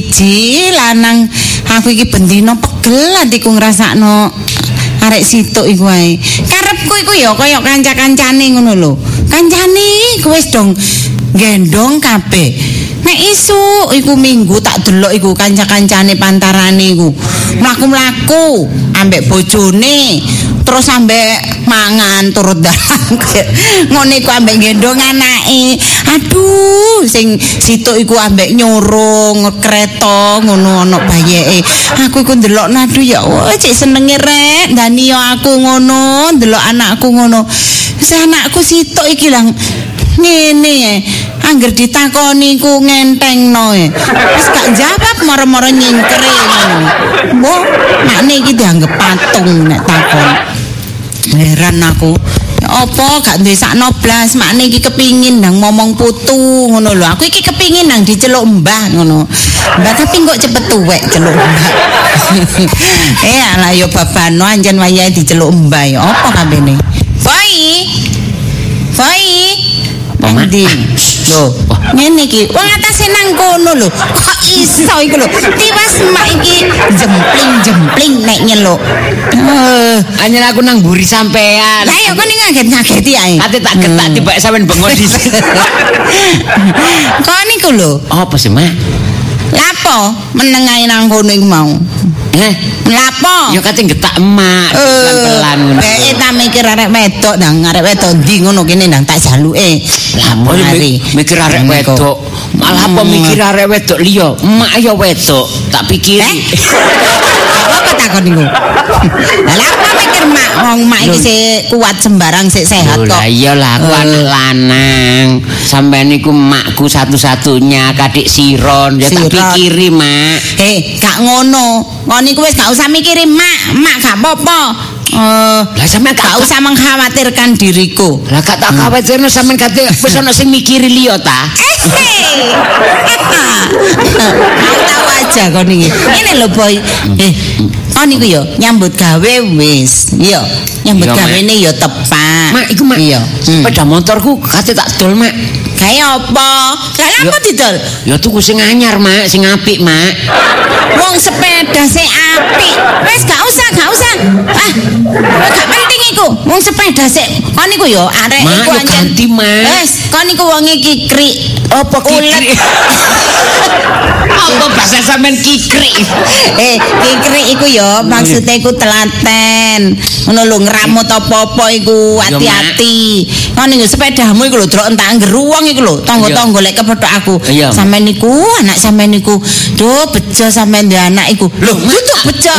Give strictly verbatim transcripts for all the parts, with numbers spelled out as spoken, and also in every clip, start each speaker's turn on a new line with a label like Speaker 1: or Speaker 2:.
Speaker 1: siji lanang aku iki bendino pegel atiku ngrasakno arek situk iku ae. Karepku iku ya kaya kanca-kancane ngono lho. Kancane iku wis dong gendong kabeh. Nek isu iku minggu tak delok iku kanca-kancane pantarane iku. Mlaku-mlaku ambek bojone, terus ambek mangan turut dalan. Ngono iku ambek gendong anake. Aduh, sing situk iku ambek nyurung kereta ngono ana bayeke. Aku iku ndelok aduh ya Allah, cek senenge rek ndani yo aku ngono, ndelok anakku ngono. Wis anakku situk iki lang ngene ya. Angger ditakoni ku ngentengno e. Wis gak jawab moro-moro nyingkre ngono. Mbok makne iki dianggep patung nek takon. Heran aku. Ya apa gak duwe sakno blas, makne iki kepingin nang momong putu ngono lho. Aku iki kepingin nang diceluk mbah ngono. Mbah tapi kok cepet tuwek celuk mbah. Eh ala yo babano anjen wayahe diceluk mbah ya apa kabene. Boy. Boy. Ndi? Lho, ngene iki. Wong atase nang kono lho. Kok iso iku lho. Tiwas mak iki jempling-jempling nek nyeluk. Eh,
Speaker 2: anyen aku nang mburi sampean.
Speaker 1: Lah ya kon ngaget-ngageti ae.
Speaker 2: Ate tak getak tibak sampean bengok dhisik.
Speaker 1: Kon niku lho.
Speaker 2: Apa sih, Mak?
Speaker 1: Lapo meneng ae nang kono iku mau.
Speaker 2: Eh,
Speaker 1: lapo?
Speaker 2: Ya kate getak emak pelan-pelan ngono.
Speaker 1: Beke ta mikir arek wedok nang arek wedok ndi ngono kene nang tak jaluke.
Speaker 2: Lah mikir arek wedok. Malah apa mikir arek wedok liya? Emak ya wedok, tak pikiri.
Speaker 1: Apa takon niku? Lah apa mikir mak wong mak iki sik kuat sembarang sik sehat kok.
Speaker 2: Lah iya lah aku anak lanang. Sampeyan niku emakku satu-satunya kadik siron ya tak pikiri, Mak.
Speaker 1: Eh, gak ngono. Ngono niku wis gak usah mikiri mak, mak gak apa-apa. Eh,
Speaker 2: lah sampeyan
Speaker 1: gak usah mengkhawatirkan diriku.
Speaker 2: Lah gak tak khawatirno sampeyan kate wis ana sing mikiri liya ta.
Speaker 1: Eh. Tahu aja kon iki. Ngene lho Boy. Eh, kon niku yo nyambut gawe wis. Yo, nyambut gawene yo tepat.
Speaker 2: Mak, iku Mak. Iya. Sepeda motorku kate tak dol, Mak.
Speaker 1: Kaya apa? Lah apa didol?
Speaker 2: Ya tuku sing anyar, Mak, sing apik, Mak.
Speaker 1: Wong sepeda sing apik. Wis gak usah, gak usah. Ah, gak penting iku. Wong sepeda sik. Kon niku yo arek iku
Speaker 2: anjen. Ganti, Mak.
Speaker 1: Wis, kon niku wonge kikrik.
Speaker 2: Apa kikrik? Apa bahasa sampean kikrik?
Speaker 1: Eh, kikrik iku yo maksudnya iku telaten. Ngono lho ngramut apa-apa iku hati-hati. Kon niku sepedamu iku lho drok entak geruwang iku lho, tangga-tangga lek kepethuk aku. Sampeyan niku anak sampeyan niku, duh bejo sampeyan ndek anak iku. Lho, tutuk bejo.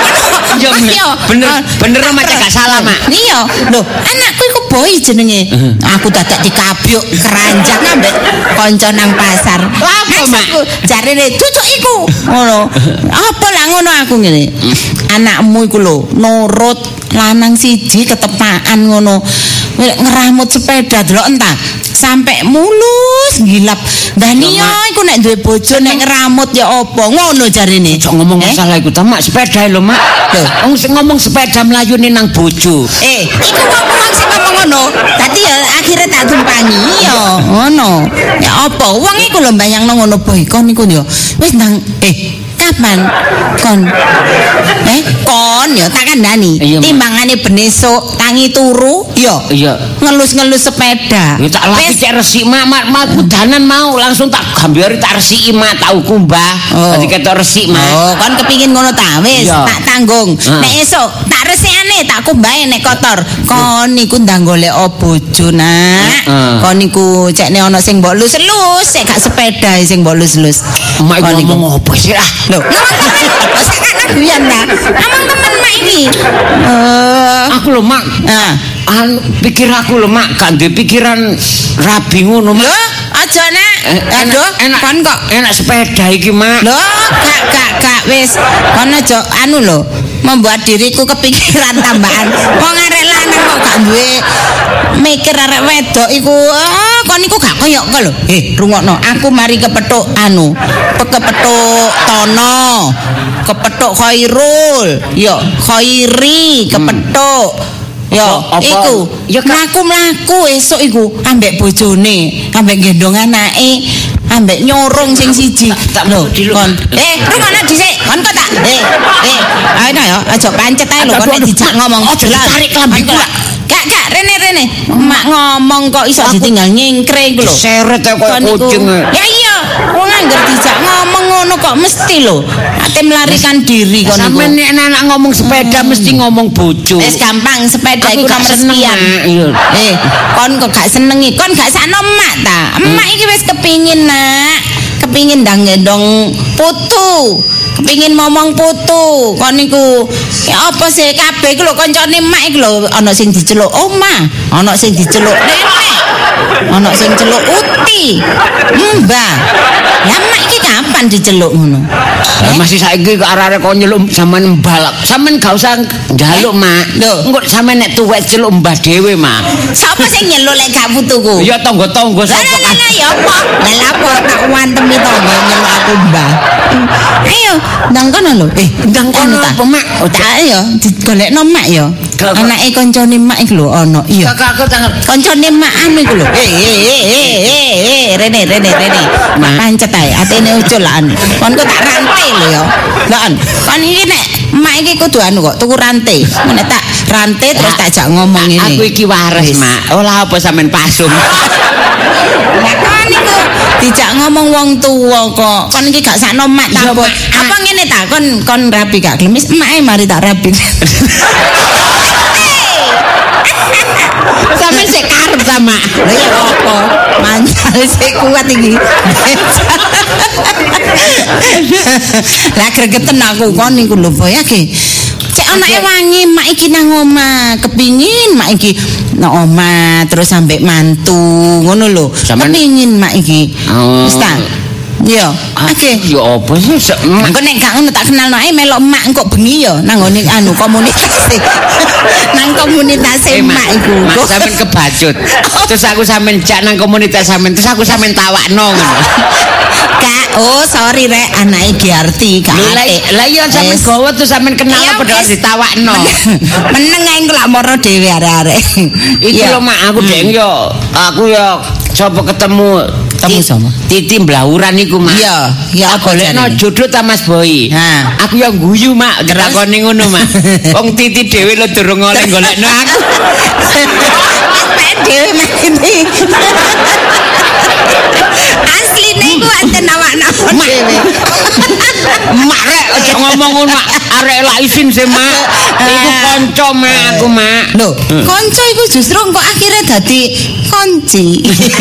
Speaker 2: Iya, bener, bener Mak gak salah, Mak.
Speaker 1: Iya, lho, anakku iku Boy jenenge. Aku dadak dikabyuk keranjang ambek kanca nang pasar. Apa, Mak? Jarene tutuk iku. Ngono. Apa lah ngono aku ngene. Anakmu iku lho nurut lanang siji ketepaan ngono. Ngeramut sepeda delok entah sampai mulus gilap. Dania iku nek duwe bojo nek ngeramut ya apa ngono jarine.
Speaker 2: Ojo ngomong masalah iku ta, Mak, sepeda lho, Mak. Wong sing ngomong sepeda mlayune nang bojo.
Speaker 1: Eh, iku ngomong sing ngomong ngono. Dadi ya akhire tak tumpangi ya ngono. Ya apa wong iku lho mbayangno ngono Boy kon niku ya. Wis nang eh kapan kon eh kon ya tak kandhani timbangane benesuk tangi turu ya
Speaker 2: iya
Speaker 1: ngelus-ngelus sepeda
Speaker 2: ya tak lagi cek resik mak mak maku danan mau langsung tak gambari tak resiki mak tau kumbah dadi ketok resik mak
Speaker 1: oh kon kepingin ngono ta wis tak tanggung nek esuk tak resikane tak kumbahe nek kotor kon niku ndang golek bojo nak kon niku cekne ana sing mbok lus-lus sik gak sepeda sing mbok lus-lus
Speaker 2: mak ngomong opo sih ah
Speaker 1: lho sak guyan ta amang temen mak iki uh,
Speaker 2: aku lho mak
Speaker 1: nah
Speaker 2: anu pikir aku lho mak gak duwe pikiran rabi ngono mak
Speaker 1: lho aja nak aduh
Speaker 2: enak
Speaker 1: kon kok
Speaker 2: enak sepeda iki mak
Speaker 1: lho gak gak gak wis kon aja anu lho membuat diriku kepikiran tambahan wong arek lanang kok gak duwe mikir arek wedok iku ah kon niku gak koyo kok lho eh rungokno aku mari kepethuk anu kepethuk Tono kepethuk Khairul yo Khairi kepethuk yo iku mlaku-mlaku esuk iku ambek bojone ambek gendong anake ambek nyorong sing siji. Lho, kon. Eh, rungokno dhisik. Kon kok tak. Eh, eh. Ayo ya, aja pancet ae lho kon nek dijak ngomong. Aja tarik klambiku lah. Gak gak rene rene. Mak ngomong kok iso ditinggal nyingkre iku lho.
Speaker 2: Seret kaya kucing.
Speaker 1: Ya iya, wong anggar dijak ngomong ngono kok mesti lho. Ate melarikan diri kon niku.
Speaker 2: Sampe nek anak ngomong sepeda mesti ngomong bojo.
Speaker 1: Wis gampang sepeda iku nomor sekian. Eh, kon kok gak senengi, kon gak sakno emak ta. Emak iki wis kepingin nak, kepingin ndang gendong putu. Kepingin ngomong putu kon niku ya apa sih kabeh iku lho kancane emak iku lho ana sing diceluk oma, ana sing diceluk nenek, ana sing celuk uti, mbah. Ya emak iki kapan diceluk ngono?
Speaker 2: Eh? Masih saiki kok arek-arek kok nyeluk sampean mbah. Sampean gak usah njaluk, Mak.
Speaker 1: Lho,
Speaker 2: engko sampean nek tuwek celuk mbah dhewe, Mak.
Speaker 1: Sapa sing nyeluk lek gak putuku?
Speaker 2: Ya tangga-tangga sapa
Speaker 1: kan. Lah ya apa? Lah apa tak wantemi tangga nyeluk aku mbah. Ayo, ndang kono lho. Eh, ndang kono ta, Mak. Oh, tak ya digolekno Mak ya. Anake kancane Mak iku lho ana. Iya. Kakakku tangan kancane Mak anu iku lho. Eh, eh, eh, eh, eh, rene rene rene. Mak pancet ae, atene ucul lan. Kon kok tak rantai lho ya. Lah kon iki nek Mak iki kudu anu kok tuku rantai. Nek tak rantai terus tak jak ngomong ngene.
Speaker 2: Aku iki waras, Mak. Olah apa sampean pasung.
Speaker 1: Lah kon iku dijak ngomong wong tuwa kok. Kon iki gak sakno Mak ta. Apa ngene ta? Kon kon rapi gak gelem wis emak mari tak rapi.
Speaker 2: Sampeyan sik karep sama.
Speaker 1: Lha ya apa? Mancal sik kuat iki. Lah gregeten aku kon niku lho boy iki. Cek anake wangi mak iki nang omah, kepingin mak iki nang omah terus sampe mantu ngono lho. Kepingin mak iki. Wis ta? Iya, oke.
Speaker 2: Ya apa sih?
Speaker 1: Engko nek gak ngono tak kenalno ae melok emak engko bengi ya nang ngene anu komunitas. Nang komunitas emak iku.
Speaker 2: Mak sampean kebacut. Terus aku sampean jak nang komunitas sampean terus aku sampean tawakno ngono.
Speaker 1: Kak, oh sorry rek anake Giarti gak ate.
Speaker 2: Lah iya sampean gowo terus sampean kenal padha ditawakno.
Speaker 1: Meneng ae engko lak moro dhewe arek-arek.
Speaker 2: Iki lho mak aku deng yo. Aku yo sapa ketemu
Speaker 1: ketemu sama
Speaker 2: Titi Blawuran iku mak.
Speaker 1: Iya, ya apa
Speaker 2: golekno jodoh ta Mas Boy.
Speaker 1: Ha.
Speaker 2: Aku yang guyu mak gerakone ngono mak. Wong Titi dhewe lho durung oleh golekno aku.
Speaker 1: Mek dhewe mek Titi. Asline ku anten awakno dhewe.
Speaker 2: Mak rek aja ngomong ngono mak. Arek lak isin sih mak. Iku kanca mak aku mak.
Speaker 1: Lho, kanca iku justru kok akhirnya dadi konci.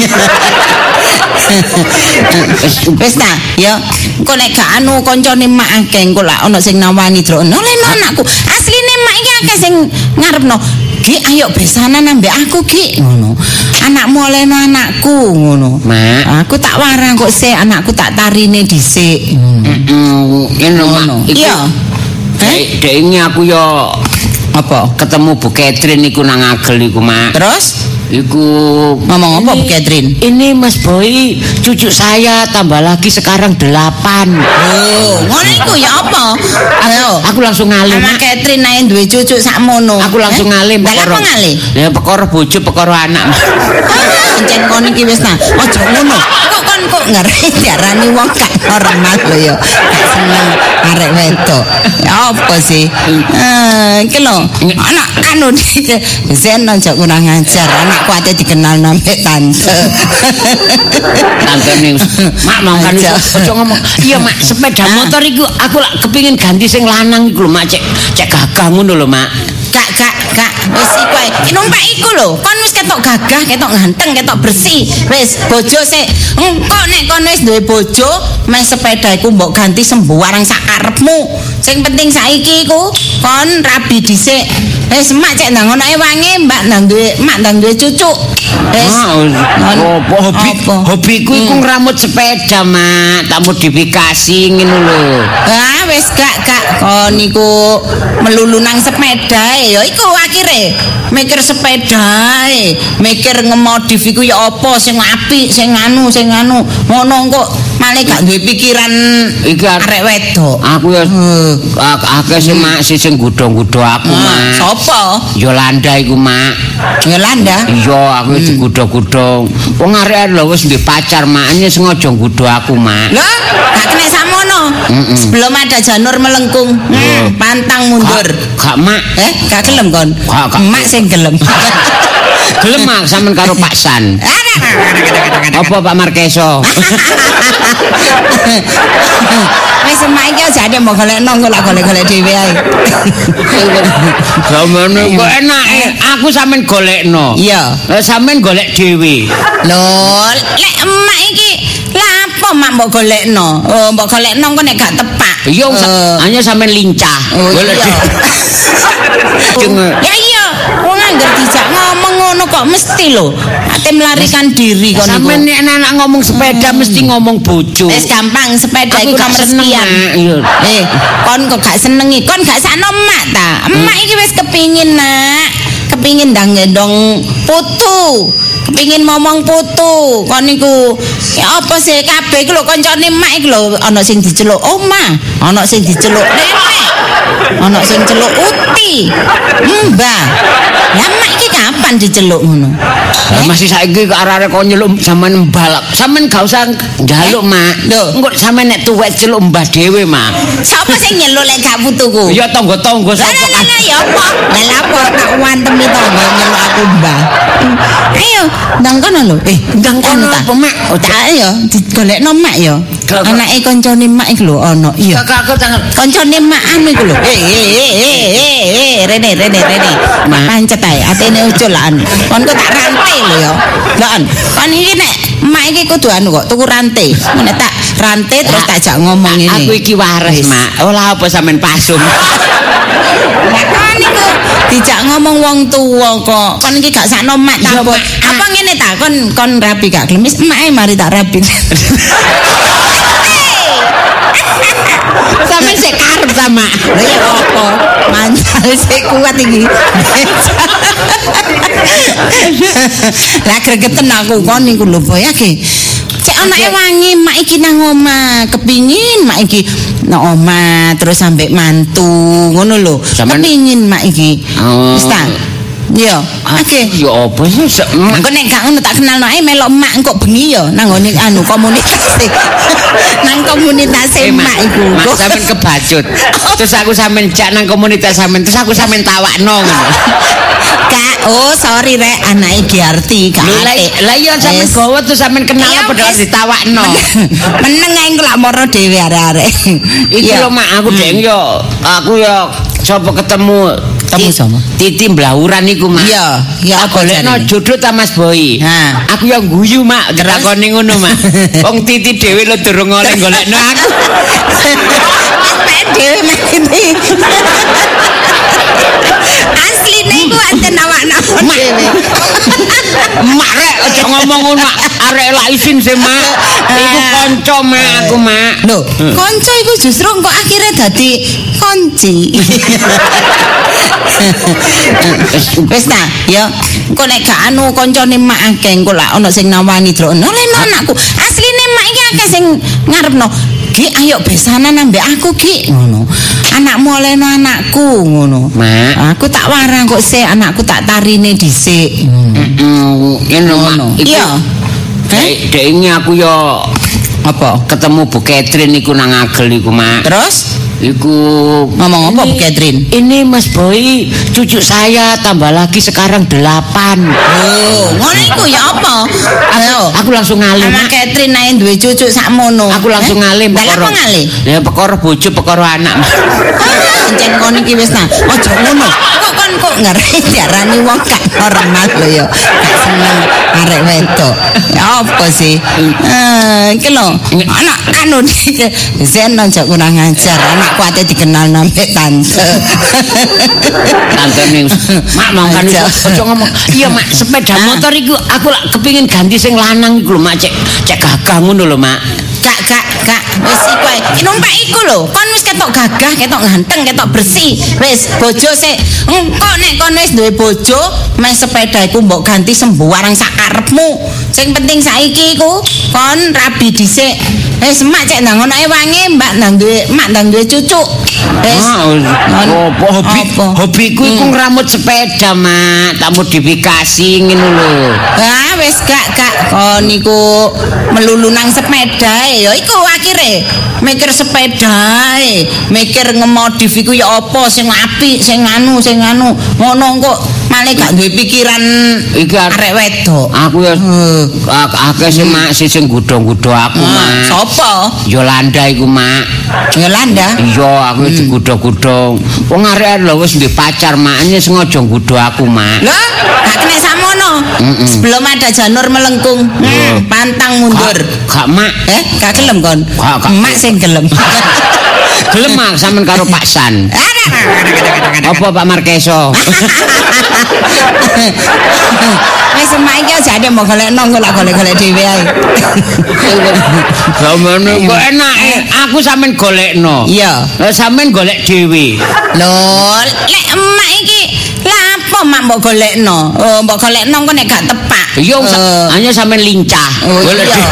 Speaker 1: Wis ta, ya. Kok nek gak anu kancane mak akeh engko lak ana sing nawani drono leno anakku. Asline mak iki akeh sing ngarepno. Ki ayo besanan ambek aku Ki ngono. Anakmu olehno anakku ngono.
Speaker 2: Mak,
Speaker 1: aku tak warang kok sik anakku tak tarine dhisik.
Speaker 2: Heeh, ngono.
Speaker 1: Iya.
Speaker 2: Dek, dek ini aku yo
Speaker 1: apa?
Speaker 2: Ketemu Bu Catherine iku nang Agel iku, Mak.
Speaker 1: Terus?
Speaker 2: Iku
Speaker 1: ngomong apa Bu Catherine?
Speaker 2: Ini Mas Boy, cucu saya tambah lagi sekarang delapan.
Speaker 1: Oh, ngono iku ya apa? Ayo,
Speaker 2: aku langsung ngalih.
Speaker 1: Mak Catherine ae duwe cucu sakmono.
Speaker 2: Aku langsung eh? ngalih
Speaker 1: perkara. Lah ngalih?
Speaker 2: Ya perkara bojo, perkara anak.
Speaker 1: Ah, encen kon iki wis nah. Aja ngono. Kok kon kok ngerti diarani wong gak normal lho ya. Gak seneng arek wedok. Ya apa sih? Eh, iki lho. Anak anu Zen aja kurang ajar. Anakku ate dikenal nambah tante.
Speaker 2: Tante ning. Mak mau kan aja ngomong. Iya, Mak, sepeda motor iku aku lak kepengin ganti sing lanang iku lho, Mak. Cek cek gagah ngono lho, Mak.
Speaker 1: Kak, kak, kak, wis iku ae. Numpak iku lho, kon wis ketok gagah, ketok ganteng, ketok bersih. Wis bojo sik. Engko nek kon wis duwe bojo, meh sepeda iku mbok ganti sembarang sak karepmu. Sing penting saiki iku kon rabi dhisik. Wis emak cek ndang ono ae wangi, mbak ndang duwe, mak ndang duwe cucu. Wis.
Speaker 2: Apa hobi? Hobiku iku ngramut sepeda, Mak. Tak modifikasi ngono lho.
Speaker 1: Ah, wis gak, Kak. Kon niku melulu nang sepeda ya iku akhire mikir sepeda ae. eh mikir ngemodif iku ya apa sing apik, sing anu, sing anu. Ngono kok malah gak duwe pikiran
Speaker 2: iki
Speaker 1: arek wedok.
Speaker 2: Aku ya akeh sing mak sing godho-godho aku, Mak.
Speaker 1: Sopo?
Speaker 2: Yolanda iku, Mak.
Speaker 1: Yolanda?
Speaker 2: Iya, aku digodho-godho. Wong arek lho wis duwe pacar, Mak. Ini sengaja nggodho aku, Mak.
Speaker 1: Lah, gak kena samono. Sebelum ada janur melengkung, hmm, pantang mundur.
Speaker 2: Gak, Mak.
Speaker 1: Eh, gak gelem kon? Mak sing gelem.
Speaker 2: Gelem Mak sampean karo Pak San. Apa Pak Markeso?
Speaker 1: Wis mak iki aja ada mau golekno kok lak golek-golek dhewe ae.
Speaker 2: Sampeyan kok enake aku sampean golekno.
Speaker 1: Iya.
Speaker 2: Lah sampean golek dhewe.
Speaker 1: Lho, lek emak iki lah apa mak mbok golekno? Oh, mbok golekno kok nek gak tepak.
Speaker 2: Iya, hanya sampean lincah. Golek dhewe.
Speaker 1: Ya iya, wong anggar dijak ngomong ngono kok mesti lho. Ate melarikan diri kon niku.
Speaker 2: Sampeyan nek anak ngomong sepeda mesti ngomong bojo.
Speaker 1: Wis gampang sepeda iku nomor sekian. Eh, kon kok gak senengi, kon gak sakno emak ta. Emak iki wis kepingin, Nak. Kepingin ndang gendong putu. Kepingin ngomong putu. Kon niku ya apa sih kabeh iku lho kancane emak iki lho ana sing diceluk Oma, ana sing diceluk Nenek. Ana sing celuk Uti. Mbah. Lah emak iki kapan diceluk ngono?
Speaker 2: Lah masih saiki kok arek-arek kok nyeluk sampean mbah. Sampean gak usah njaluk, Mak.
Speaker 1: Lho,
Speaker 2: engko sampean nek tuwek celuk mbah dhewe, Mak.
Speaker 1: Sapa sing nyeluk lek gak putuku?
Speaker 2: Ya tangga-tangga sapa kan.
Speaker 1: Lah ya apa? Lah apa tak wantemi tangga nyeluk aku mbah. Ayo, ndang kono lho. Eh, ndang kono
Speaker 2: apa, Mak?
Speaker 1: Oh, tak ya digolekno mak ya. Anake kancane mak iku lho ana. Iya.
Speaker 2: Kakak tangan
Speaker 1: Kancane mak anu iku lho. Eh eh eh eh eh Rene Rene Rene. Mak pancet ae atene ucul lan. Kon kok tak rantai lho ya. Lah kon iki nek mak iki kudu anu kok tuku rantai. Nek tak rantai terus tak jak ngomong ngene.
Speaker 2: Aku iki waras, Mak. Olah apa sampean pasung.
Speaker 1: Lah kon niku dijak ngomong wong tuwa kok. Kon iki gak sakno mak ta. Apa ngene ta kon kon rapi gak gelem wis emak mari tak rapi.
Speaker 2: Sampeyan sik karep sama.
Speaker 1: Lah ya apa? Mancal sik kuat iki. Lah gregeten aku kon niku lho boy iki. Cek anake wangi mak iki nang omah, kepingin mak iki nang omah terus sampe mantu ngono lho. Kepingin mak iki. Wis ta? Iya, oke.
Speaker 2: Ya apa sih?
Speaker 1: Engko nek gak ngono tak kenalno ae melok emak engko bengi ya nang ngene anu komunitas. Nang komunitas emak iku.
Speaker 2: Mak sampean kebacut. Terus aku sampean jak nang komunitas sampean terus aku sampean tawakno ngono.
Speaker 1: Kak, oh sorry rek anake Giarti gak ate.
Speaker 2: Lah iya sampean gowo terus sampean kenal padha ditawakno.
Speaker 1: Meneng ae engko lak moro dhewe arek-arek.
Speaker 2: Iki lho mak aku deng yo aku yo sapa ketemu
Speaker 1: ketemu sama
Speaker 2: Titi Blauran iku mak.
Speaker 1: Iya, ya
Speaker 2: aku golekno jodoh ta Mas Boy.
Speaker 1: Ha.
Speaker 2: Aku yang guyu mak takoni ngono mak. Wong Titi dhewe lho durung oleh golekno aku.
Speaker 1: Dhewe mek iki. Asline iku anten awakno dhewe.
Speaker 2: Mak rek aja ngomong ngono arek lak isin sih mak. Iku kanca mak aku mak.
Speaker 1: Lho, kanca iku justru kok akhirnya dadi konci. Wis ta, ya. Engko nek gak anu kancane mak akeh engko lak ana sing nawani drone. Leno anakku. Asline mak iki akeh sing ngarepno. Ki ayo besanan ambek aku Ki ngono. Anakmu olehno anakku ngono.
Speaker 2: Mak,
Speaker 1: aku tak warang kok sik anakku tak tarine dhisik.
Speaker 2: Heeh, ngono.
Speaker 1: Iya.
Speaker 2: Dek dek ini aku yo
Speaker 1: apa
Speaker 2: ketemu Bu Catherine iku nang Agel iku mak.
Speaker 1: Terus
Speaker 2: iku
Speaker 1: ngomong apa Bu Catherine?
Speaker 2: Ini Mas Boy, cucu saya tambah lagi sekarang delapan.
Speaker 1: Oh, ngono iku ya apa? Ayo,
Speaker 2: aku langsung ngalih.
Speaker 1: Mama Catherine naik duwe cucu sakmono.
Speaker 2: Aku langsung eh? ngalih
Speaker 1: perkara. Lah ngalih?
Speaker 2: Ya perkara bojo, perkara anak.
Speaker 1: Ah, encen kon iki wis ta. Aja ngono. Kok kon kok ngerti diarani wong gak normal lho ya. Gak seneng arek wedok. Ya apa sih? Eh, iki lho. Anak anu iki Zen aja kurang ajar. Anakku ate dikenal nambah tante.
Speaker 2: Tante ning mak mau kan aja ngomong. Iya mak, sepeda motor iku aku lak kepingin ganti sing lanang iku lho mak cek cek gagah ngono lho mak.
Speaker 1: gak gak gak wis iku ae. Numpak iku lho, kon wis ketok gagah, ketok ganteng, ketok bersih. Wis bojo sik. Engko nek kon wis duwe bojo, meh sepeda iku mbok ganti sembarang sak karepmu. Sing penting saiki iku kon rabi dhisik. Wis emak cek ndang ono ewange, mbak ndang duwe emak ndang duwe cucu. Wis.
Speaker 2: Opo hobi hobiku iku ngramut sepeda, Mak. Tak modifikasi ngono lho.
Speaker 1: Ah wis gak gak kon niku melulu nang sepeda ya iku akhire mikir sepeda e, mikir ngemodif iku ya apa sing apik, sing anu, sing anu. Ngono kok malah gak duwe pikiran
Speaker 2: iki
Speaker 1: arek wedok.
Speaker 2: Aku ya akeh sing mak sing gudho-gudho aku, Mak.
Speaker 1: Sapa?
Speaker 2: Yolanda iku, Mak.
Speaker 1: Yolanda?
Speaker 2: Iya, aku digudho-gudho. Wong arek lho wis duwe pacar, Mak. Ini sengaja ngudho aku, Mak.
Speaker 1: Lho, gak kena samono. Sebelum ada janur melengkung, hmm, pantang mundur.
Speaker 2: Gak, Mak.
Speaker 1: Eh, gak gelem kon? Mak sing gelem.
Speaker 2: Gelem Mak sampean karo Pak San. Apa Pak Markeso?
Speaker 1: Wis emak iki aja ade mau golekno kok lak golek-golek dhewe ae.
Speaker 2: Sampeyan kok enake aku sampean golekno.
Speaker 1: Iya.
Speaker 2: Lah sampean golek dhewe.
Speaker 1: Lho, lek emak iki lah apa mak mbok golekno? Oh, mbok golekno kok nek gak tepak.
Speaker 2: Iya, hanya sampean lincah. Golek dhewe.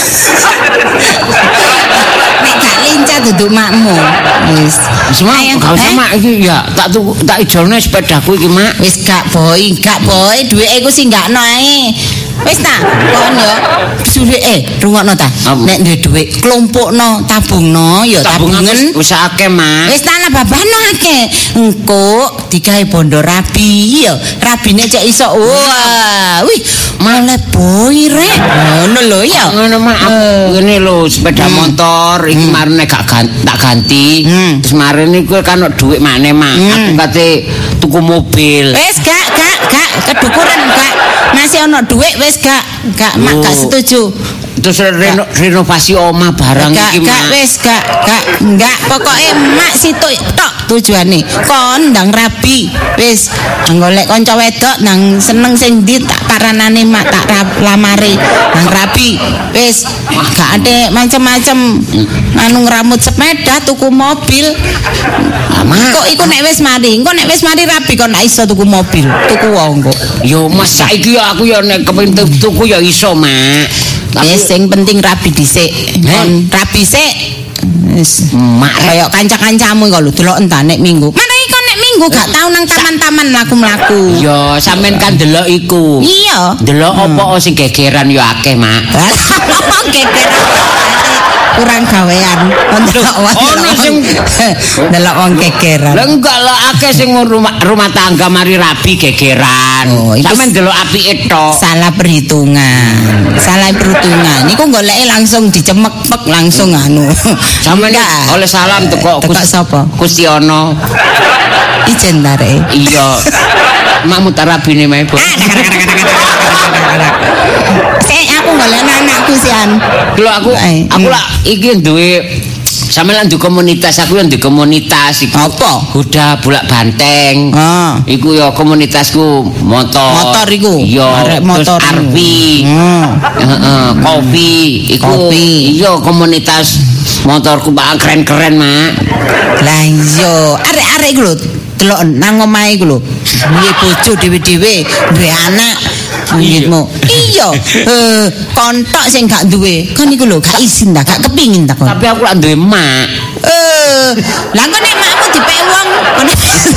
Speaker 1: Nek gak lincah duduk makmu. Wis.
Speaker 2: Semua gak usah Mak iki ya tak tuku tak ijolne sepedaku iki, Mak.
Speaker 1: Wis gak boy, gak boy, duweke iku sing gakno ae. Wis ta, kon yo suwe eh rungokno ta. Nek duwe dhuwit klompokno, tabungno ya tabungen
Speaker 2: wis akeh, Mak.
Speaker 1: Wis tanah babano akeh. Engko digawe bondo rabi ya. Rabine cek iso. Wah, wih, malah boy rek. Ngono lho ya.
Speaker 2: Ngono Mak. Ngene lho sepeda motor iki marene gak tak ganti. Terus marene iku kan dhuwit maneh, Mak. Aku kate tuku mobil.
Speaker 1: Wis gak gak gak kedukuran gak. Masih ono dhuwit wis gak gak mak gak setuju.
Speaker 2: Terus reno, renovasi omah barang iki, Mak.
Speaker 1: Gak wis gak gak enggak pokoke mak situ tok tujuane. Kon ndang rabi. Wis golek kanca wedok nang seneng sing ndi tak paranane mak tak lamari nang rabi. Wis gak ade macem-macem anu ngramut sepeda tuku mobil. Kok iku nek wis mari, engko nek wis mari rabi kon gak iso tuku mobil, tuku wong kok.
Speaker 2: Yo Mas saiki aku ya nek kepengin tuku ya iso, Mak.
Speaker 1: Wis sing penting rabi dhisik. Kon rabi sik. Wis mak kaya kanca-kancamu kok lho delok entah nek minggu. Mana iki nek minggu gak tau nang taman-taman mlaku-mlaku.
Speaker 2: Yo sampean kan delok iku.
Speaker 1: Iya.
Speaker 2: Delok apa sing gegeran yo akeh, Mak.
Speaker 1: Apa gegeran? Kurang gawean delok
Speaker 2: ono sing
Speaker 1: delok wong gegeran.
Speaker 2: Lah enggak lah akeh sing rumah, rumah tangga mari rabi gegeran. Oh, sampean delok apike tok.
Speaker 1: Salah perhitungan. Salah perhitungan. Niku goleke langsung dicemek-mek langsung anu.
Speaker 2: Sampeyan oleh salam teko
Speaker 1: sapa?
Speaker 2: Gusti Ono.
Speaker 1: Ijen tare.
Speaker 2: Iya. Mak mutarabine mae, Bu.
Speaker 1: Sik aku golek anakku sian.
Speaker 2: Lho aku aku lak iki duwe sampeyan duwe komunitas, aku yang duwe komunitas iki.
Speaker 1: Apa?
Speaker 2: Huda Bulak Banteng.
Speaker 1: Ah.
Speaker 2: Iku ya komunitasku motor.
Speaker 1: Motor iku.
Speaker 2: Iya, motor R V. Heeh, kopi. Iku iya komunitas motorku Pak keren-keren, Mak.
Speaker 1: Lah iya, arek-arek iku lho delok nang omahe iku lho. Duwe bojo dhewe-dhewe, duwe anak. Ngitmu. Iya, eh kontok sing gak duwe. Kan iku lho gak izin ta, gak kepingin ta kon.
Speaker 2: Tapi aku lak duwe mak.
Speaker 1: Eh, lah kok nek makmu dipek wong kon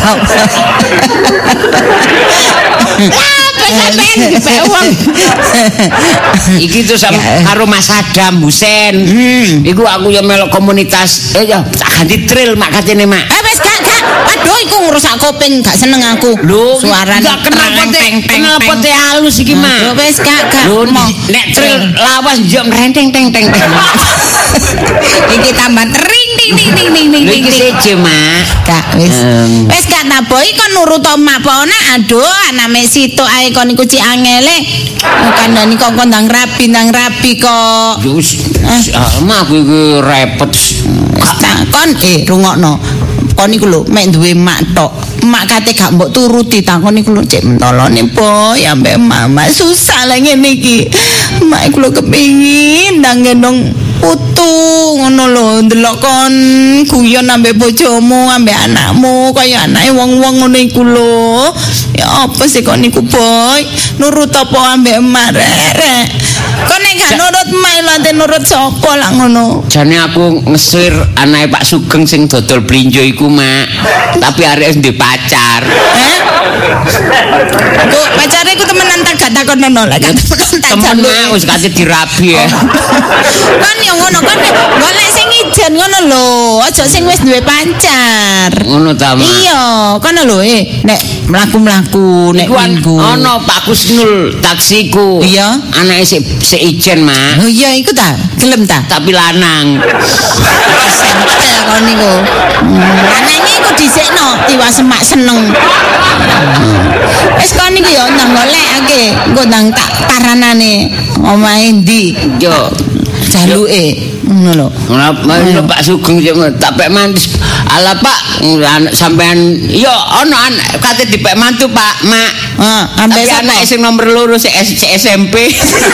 Speaker 2: sampean dipek wong. Iki tuh sama karo Mas Adam Husen. Iku aku ya melok komunitas. Eh ya tak ganti trail mak katene, Mak.
Speaker 1: Eh wis gak gak. Aduh iku ngrusak kuping, gak seneng aku. Suarane
Speaker 2: gak kenapa teh kenapa teh halus iki, Mak.
Speaker 1: Wis gak gak.
Speaker 2: Nek trail lawas yo renteng teng teng teng.
Speaker 1: Iki tambah tering ding ding ding ding ding.
Speaker 2: Iki seje, Mak.
Speaker 1: Gak wis. Wis gak naboi kon nurut mak pona. Aduh, aname situ ae kon iku cik angele. Kandhani kok kon ndang rabi ndang rabi kok.
Speaker 2: Yo wis. Mak aku iki repot.
Speaker 1: Kon eh rungokno. Kon iku lho mek duwe mak tok. Mak kate gak mbok turuti takon iku lho cek mentolone boy ambek mama susah lah ngene iki. Mak iku lho kepengin ndang gendong putu ngono lho ndelok kon guyon ambek bojomu ambek anakmu kaya anake wong-wong ngono iku lho. Ya apa sih kok niku boy nurut apa ambek emak rek. Kok nek gak nurut emak lho nurut sapa lah ngono.
Speaker 2: Jane aku ngesir anake Pak Sugeng sing dodol blinjo iku mak. Tapi arek ndek pacar.
Speaker 1: Eh? Kok pacare iku temenan tak gak takonono lek gak temenan tak
Speaker 2: temen mak wis kate dirabi ya.
Speaker 1: Kan yo ngono kan golek sing ijen ngono lho, aja sing wis duwe pacar.
Speaker 2: Ngono ta, Mak.
Speaker 1: Iya, kono lho eh nek mlaku-mlaku nek minggu.
Speaker 2: Ono Pak Kusnul taksiku.
Speaker 1: Iya.
Speaker 2: Anake sik sik ijen, Mak.
Speaker 1: Oh iya iku ta, gelem ta?
Speaker 2: Tapi lanang.
Speaker 1: Sentel kon niku. Lanange iku dhisikno tiwas semak seneng. Wis kon niku yo ndang golekake, engko ndang tak paranane omahe ndi.
Speaker 2: Yo
Speaker 1: jaluke ngono lho.
Speaker 2: Ngono Pak Sugeng tak pek mantis. Ala Pak sampean yo ono anak kate dipek mantu Pak, Mak.
Speaker 1: Heeh, ambek
Speaker 2: anak sing nomor loro sik S M P.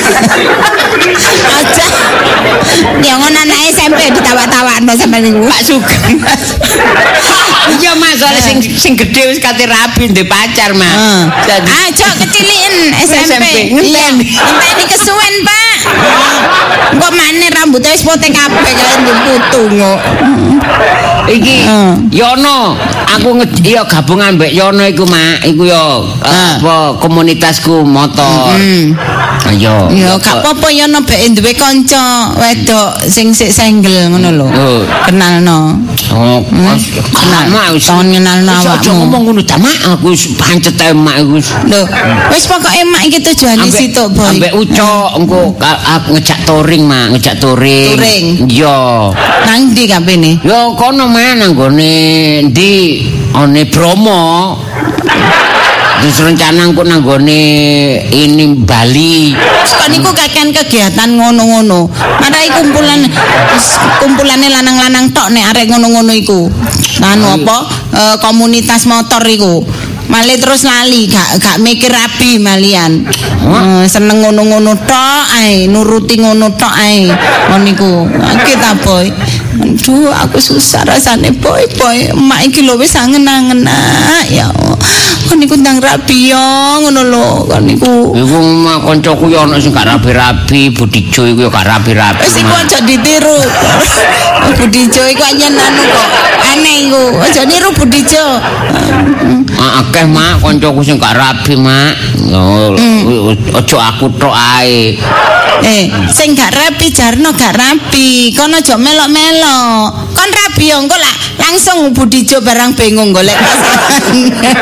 Speaker 1: Aja. Ya ngono anak S M P ditawa-tawakno sampean niku. Pak Sugeng.
Speaker 2: Iya Mas, soalnya sing sing gedhe wis kate rabi ndek pacar, Mak.
Speaker 1: Jadi aja keciliken S M P.
Speaker 2: Ngenteni.
Speaker 1: Ngenteni kesuwen, Pak. Engko maneh rambutnya wis potek kabeh kaya ndek putu kok.
Speaker 2: Iki Yono, aku iya gabungan mbek Yono iku, Mak. Iku yo apa komunitasku motor. Ayo.
Speaker 1: Ya gak apa-apa Yono bek duwe kanca wedok sing sik single ngono lho. Kenalno.
Speaker 2: Oh, kenal mak wis
Speaker 1: kenalno awakmu.
Speaker 2: Aja ngomong ngono ta, Mak. Aku wis pancet ae mak iku.
Speaker 1: Lho, wis pokoke mak iki tujuane sitok, Boy.
Speaker 2: Ambek ucok engko aku ngejak touring, Mak, ngejak touring.
Speaker 1: Touring.
Speaker 2: Iya.
Speaker 1: Nang ndi kampene?
Speaker 2: Yo kono mah nang gone ndi one Bromo. Terus rencana aku nanggone ini Bali.
Speaker 1: Kok niku kakean kegiatan ngono-ngono. Marai kumpulan kumpulane lanang-lanang tok nek arek ngono-ngono iku. Anu apa? E, komunitas motor iku. Malih terus lali, gak gak mikir rapi malian. E, seneng ngono-ngono tok ae, nuruti ngono tok ae. Ngono niku. Iki ta, Boy. Aduh, aku susah rasane, Boy, Boy. Emak iki lho wis angen-angen ya. Kon niku ndang rapi yo ngono lho, kon niku.
Speaker 2: Iku mah kancaku yo ana sing gak rapi-rapi, Budijo iku yo gak rapi-rapi.
Speaker 1: Wis iku aja ditiru. Budijo iku anyen anu kok. Aneh iku. Aja niru Budijo.
Speaker 2: Akeh mak kancaku sing gak rapi, Mak. Aja aku tok ae.
Speaker 1: Eh, sing gak rapi jarno gak rapi. Kon aja melok-melok. Kon rapi yo engko lah langsung Budijo barang bingung golek pasangan.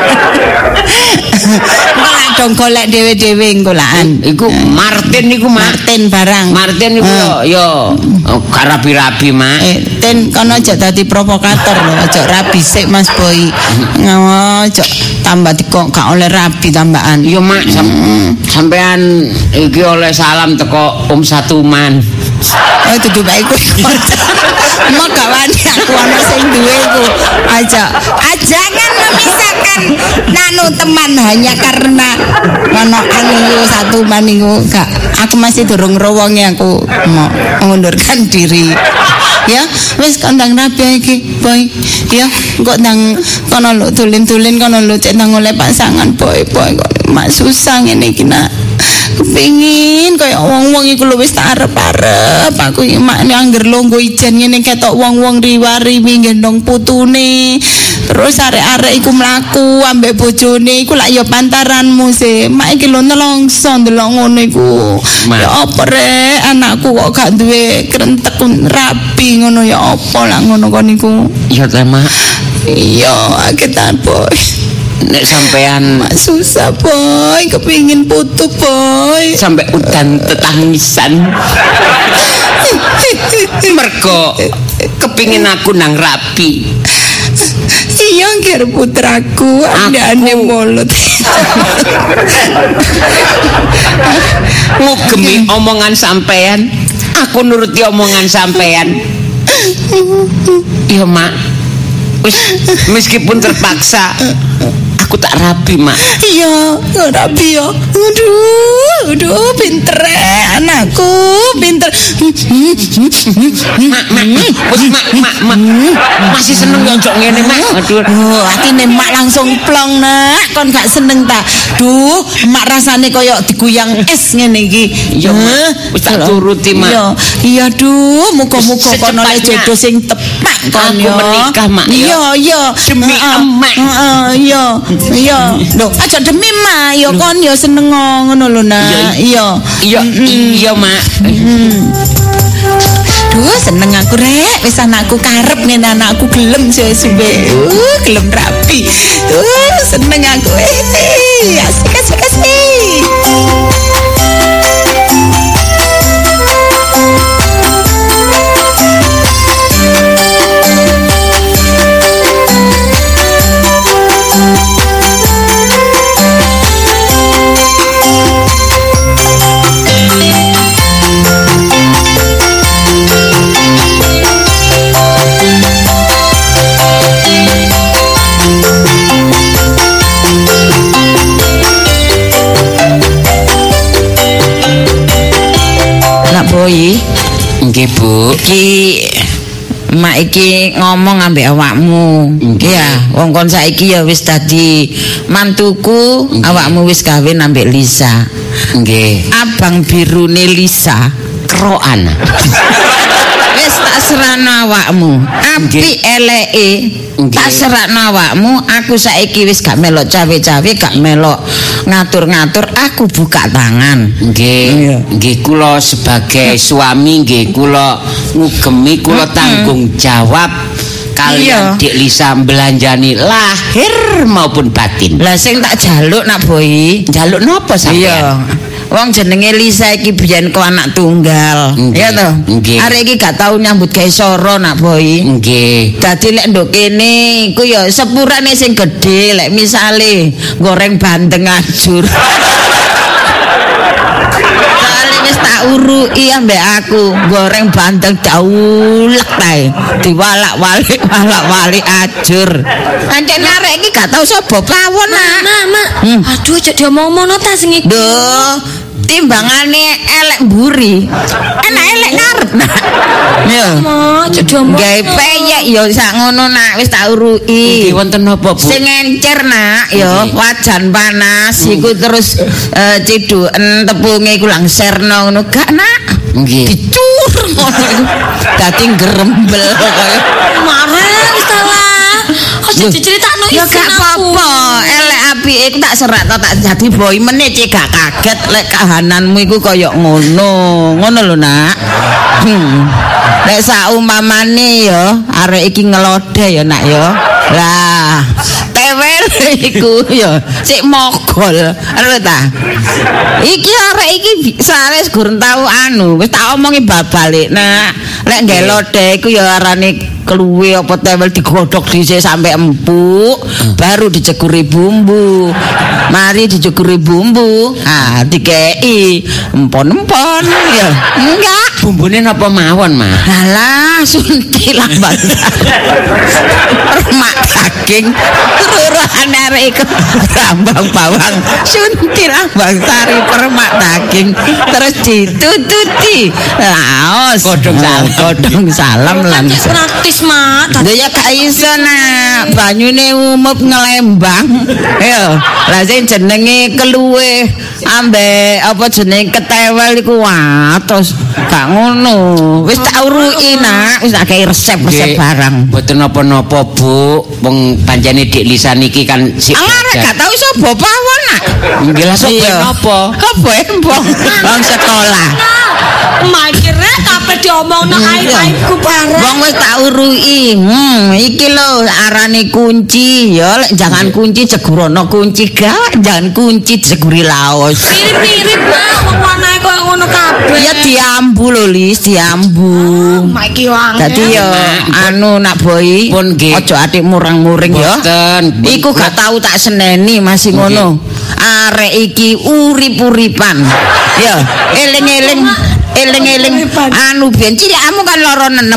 Speaker 1: Malah dong golek dhewe-dhewe engko laan.
Speaker 2: Iku Martin iku
Speaker 1: Martin barang.
Speaker 2: Martin iku yo yo gak rapi-rapi, Mak.
Speaker 1: Eh, Ten kono aja dadi provokator lho, aja rapi sik Mas Boy. Ngawa aja tambah dikok gak oleh rapi tambahan.
Speaker 2: Yo Mak, sampean iki oleh salam teko Om Satuman.
Speaker 1: Oh dudu bae kowe. Mau gak wani aku ana sing duwe iku. Aja jangan memisahkan nanu teman hanya karena ono anu satu maniku gak. Aku masih durung rowonge aku mau mengundurkan diri. Ya, wis kandang rapi iki, Boy. Ya, kok nang kono lho tulen-tulen kono lho cek nang oleh pasangan, Boy, Boy. Kok mak susah ngene iki nak. Kepingin kaya wong-wong iku lho wis tak arep-arep aku iki mak angger longgo ijen ngene ketok wong-wong riwari gendong putune terus arek-arek iku mlaku ambek bojone iku lak ya pantaranmu sih mak iki lho nelongso ndelok ngono iku ya apa rek anakku kok gak duwe krentek rapi ngono ya apa lah ngono kon niku
Speaker 2: iya ta mak
Speaker 1: iya kita Boy.
Speaker 2: Nek sampean
Speaker 1: susah Boy, kepingin putu Boy.
Speaker 2: Sampai udan tetangisan. Mergo kepingin aku nang rapi.
Speaker 1: Iya ngger putraku, ane mulut.
Speaker 2: Ngugemi omongan sampean, aku nuruti omongan sampean. Iya mak, wis meskipun terpaksa. Aku tak rapi mak.
Speaker 1: Iya rapi ya. Aduh aduh pinter anak aku pinter.
Speaker 2: Mak, mak, wis mak, mak, mak. Masih seneng yo njok ngene, Mak. Aduh.
Speaker 1: Oh, atine mak langsung plong, Nak. Kon gak seneng ta? Duh, mak rasane koyo diguyang es ngene iki.
Speaker 2: Iya, Mak. Wis tak turuti, Mak.
Speaker 1: Iya, iya duh, muga-muga kono le
Speaker 2: Secepatnya.
Speaker 1: jodoh sing tepat kon
Speaker 2: Aku
Speaker 1: yo.
Speaker 2: menikah, Mak, ya.
Speaker 1: Iya, iya.
Speaker 2: Demi
Speaker 1: Heeh.
Speaker 2: emak.
Speaker 1: Heeh, iya. Iya. Lho, aja demi mak, yo kon yo seneng ngono lho, Nak. Iya.
Speaker 2: Iya, iya, Mak.
Speaker 1: Duh, seneng aku rek, wis anakku karep ngene anakku gelem suwe-suwe. Uh, gelem rapi. Duh, seneng aku. Eh, asik asik asik. Boy,
Speaker 2: Nggih, Bu.
Speaker 1: iki mak iki ngomong ambek awakmu. Iya, wong kon saiki ya wis dadi mantuku, awakmu wis kawin ambek Lisa.
Speaker 2: Nggih.
Speaker 1: Abang birune Lisa
Speaker 2: Kerokan.
Speaker 1: wis tak serana awakmu. Apik eleke tak serana awakmu. Aku saiki wis gak melok cawe-cawe, gak melok ngatur-ngatur, aku buka tangan.
Speaker 2: Nggih, nggih kula sebagai suami nggih kula ngugemi kula tanggung jawab kalian Dik Lisa belanjani lahir maupun batin.
Speaker 1: Lah sing tak jaluk nak Boy,
Speaker 2: Jaluk napa sampean?
Speaker 1: iya. Wong jenenge Lisa iki biyen kok anak tunggal.
Speaker 2: Nggih,
Speaker 1: Ya toh?
Speaker 2: nggih.
Speaker 1: Arek iki gak tau nyambut gawe soro nak Boy.
Speaker 2: Nggih.
Speaker 1: Dadi lek nduk kene iku ya sepurane sing gedhe, lek misale goreng bandeng ajur. Soale wis tak urui ambek aku, goreng bandeng daulek tae. Diwalak-walik, walak-walik ajur. Pancen arek iki gak tau sapa pawon, Nak.
Speaker 3: Mak, mak. Aduh, cek diomong-omongno ta sing iki.
Speaker 1: Duh, timbangane elek mburi. Enak elek ngarep, Nak. Yo.
Speaker 3: Mak, cek diomong.
Speaker 1: Gawe peyek yo sak ngono, Nak, wis tak urui.
Speaker 2: Nggih wonten napa, Bu?
Speaker 1: Sing encer, Nak, yo wajan panas iku terus eh, ciduken tepunge iku langserno ngono gak, Nak.
Speaker 2: Nggih.
Speaker 1: Dicur ngono iku. Dadi grembel koyo.
Speaker 3: Marah wis salah. Aja diceritakno
Speaker 1: Ya
Speaker 3: isin
Speaker 1: gak
Speaker 3: aku.
Speaker 1: apa-apa, elek apike iku tak serat to tak dadi boy meneh cek gak kaget lek kahananmu iku kaya ngono. Ngono lho, Nak. Hmm. Lek saumpamane ya arek iki ngelodeh ya, Nak ya. Lah, tewel iku ya sik mogol. Ero ta? Iki arek iki sawis gurung tau anu, wis tak omongi bal-balik, Nak. Lek nggae lodeh iku ya arane keluwe apa tewel digodhog dhisik sampai empuk, baru dicekuri bumbu. Mari dicekuri bumbu, ah dikei empon-empon ya. Enggak.
Speaker 2: Bumbune napa mawon, Mas?
Speaker 1: Alah, sunti lambang. Remak daging, ruruhan arek iku rambang bawang, sunti lambang sari permak daging, terus ditututi. Laos,
Speaker 2: Godhong salam.
Speaker 1: godhong salam lan.
Speaker 3: Cek praktis, Mak.
Speaker 1: Lha ya gak iso, Nak. Banyune umup ngelembang. Ya, lah sing jenenge keluwe ambek apa jenenge ketewel iku watos. Gak ngono. Wis tak urui, Nak. Wis tak kei resep-resep
Speaker 2: Nggih,
Speaker 1: barang.
Speaker 2: Mboten napa-napa, Bu. Wong pancene Dik Lisa niki kan sik
Speaker 1: Alah, gak tau iso bopawon, Nak.
Speaker 2: Nggih lah sok
Speaker 1: Iya.
Speaker 2: napa?
Speaker 1: Kok bembong wong sekolah.
Speaker 3: Mak iki rek kabeh diomongno aib-aibku bareng.
Speaker 1: Wong wis tak urui. Hmm, iki lho arane kunci ya, lek jangan kunci jegurono kunci gak, jangan kunci jeguri laos.
Speaker 3: Mirip-mirip, Mak. Wong warnae koyo ngono kabeh.
Speaker 1: Ya diambu lho, Lis, diambu.
Speaker 3: Mak iki wangel.
Speaker 1: Dadi ya anu nak boy,
Speaker 2: Pun nggih.
Speaker 1: aja atik murang-muring ya.
Speaker 2: Boten.
Speaker 1: Iku gak tau tak seneni masih ngono. Arek iki urip-uripan. Ya, eling-eling eling-eling anu biyen cilikmu kan loro nenem.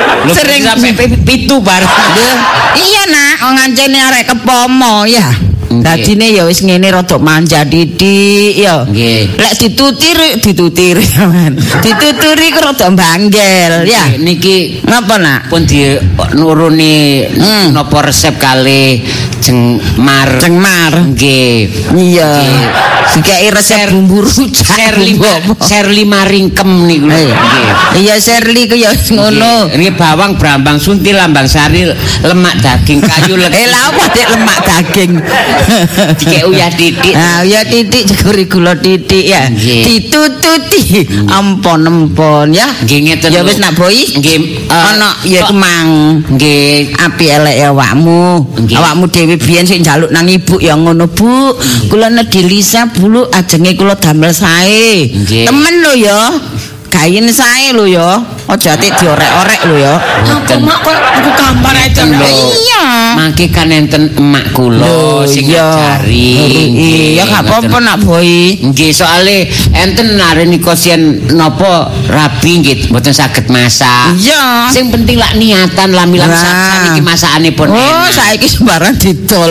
Speaker 1: Sering
Speaker 2: sampai pitu bar.
Speaker 1: Iya, Nak, ngancene arek kepomo ya. Dadine ya wis ngene rada manja titik ya.
Speaker 2: Nggih.
Speaker 1: Lek ditutir ditutir. Dituturi ku rada banggel ya.
Speaker 2: Niki
Speaker 1: Napa nak?
Speaker 2: pun di nuruni
Speaker 1: Hmm.
Speaker 2: napa resep kali Jengmar.
Speaker 1: Cengmar.
Speaker 2: Nggih.
Speaker 1: Iya. Dikai resep bumbu rujak.
Speaker 2: Serli Serli maringkem niku. Nggih.
Speaker 1: Iya Serli ku ya ngono.
Speaker 2: Nggih bawang brambang sunti lambang sari lemak daging kayu legi.
Speaker 1: Eh lha apa dek lemak daging.
Speaker 2: Dikek uyah titik.
Speaker 1: Nah, ya titik jeguri gula titik ya.
Speaker 2: Nggih.
Speaker 1: Ditututi ampon-ampon ya.
Speaker 2: Nggih ngeten.
Speaker 1: Ya wis nak boi.
Speaker 2: Nggih.
Speaker 1: Ana ya kemang.
Speaker 2: Nggih.
Speaker 1: Api elek ya awakmu.
Speaker 2: Nggih.
Speaker 1: Awakmu dhewe biyen sing njaluk nang ibu ya ngono, Bu. Kula nedhi Lisa bulu ajenge kula damel sae.
Speaker 2: Nggih.
Speaker 1: Temen lho ya. Gayen sae lho ya. Aja atik diorek-orek lho ya.
Speaker 3: Apa mak kok aku gambar aja.
Speaker 2: Lho.
Speaker 1: Iya.
Speaker 2: Mangke kan enten emak kula
Speaker 1: Lho,
Speaker 2: sing
Speaker 1: iya.
Speaker 2: ngajari.
Speaker 1: Iya gak apa-apa nak boi.
Speaker 2: Nggih, soalé enten nareni kosien napa rabi nggih mboten saged masak.
Speaker 1: Iya.
Speaker 2: Sing penting lak niatan lamilan
Speaker 1: Nah.
Speaker 2: sak niki masakanipun
Speaker 1: Oh,
Speaker 2: enak.
Speaker 1: saiki sembarang didol.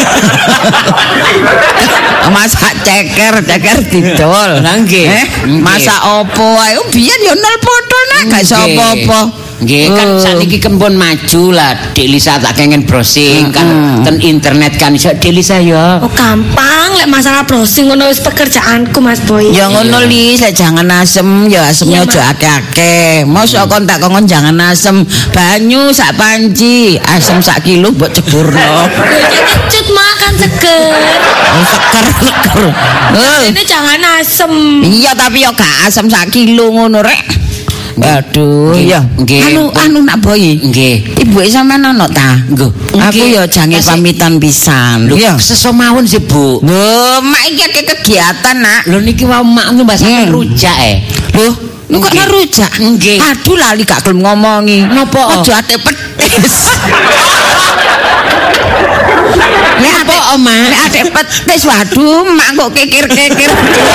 Speaker 1: Masak ceker, ceker didol.
Speaker 2: Lah, nggih.
Speaker 1: Eh,
Speaker 2: Nggih.
Speaker 1: masak opo ae? Oh, biyen ya nol foto nak gak iso
Speaker 2: Nggih.
Speaker 1: apa-apa.
Speaker 2: Nggih kan
Speaker 1: Oh.
Speaker 2: sakniki kempun maju lah Dik Lisa tak kengen browsing kan ten internet kan iso Dik Lisa ya.
Speaker 3: Oh gampang lek masalah browsing ngono wis pekerjaanku Mas Boy.
Speaker 1: Ya ngono li, saya jangan asem, ya asemnya
Speaker 3: Iya,
Speaker 1: aja akeh-akeh. Mosok kon tak kongkon jangan asem. Banyu sak panci, asem sak kilo mbok ceburno.
Speaker 3: Kecut makan seger.
Speaker 1: Oh, seker seker. Eh.
Speaker 3: Ini jangan asem.
Speaker 1: Iya tapi ya gak asam sak kilo ngono rek. Aduh,
Speaker 2: Nggih,
Speaker 1: ya.
Speaker 2: nggih.
Speaker 1: Anu anu nak boy.
Speaker 2: Nggih.
Speaker 1: Ibuke sampean ono ta?
Speaker 2: Nggo.
Speaker 1: Aku
Speaker 2: Nggih.
Speaker 1: ya jange
Speaker 2: Kasih-
Speaker 1: pamitan pisan.
Speaker 2: Lho,
Speaker 1: Iya.
Speaker 2: sesomawon sih, Bu.
Speaker 1: Lho, mak iki akeh kegiatan, Nak.
Speaker 2: Lho niki wau mak mbasaken
Speaker 1: Hmm.
Speaker 2: rujak eh.
Speaker 1: Lho, kok
Speaker 2: Nggih.
Speaker 1: ngerujak?
Speaker 2: Nggih.
Speaker 1: Aduh lali gak gelem ngomongi.
Speaker 2: Napa?
Speaker 1: Aja ate petis. Nek ate
Speaker 2: Napa, Oma?
Speaker 1: Nek ate petis waduh, mak kok kekir-kekir.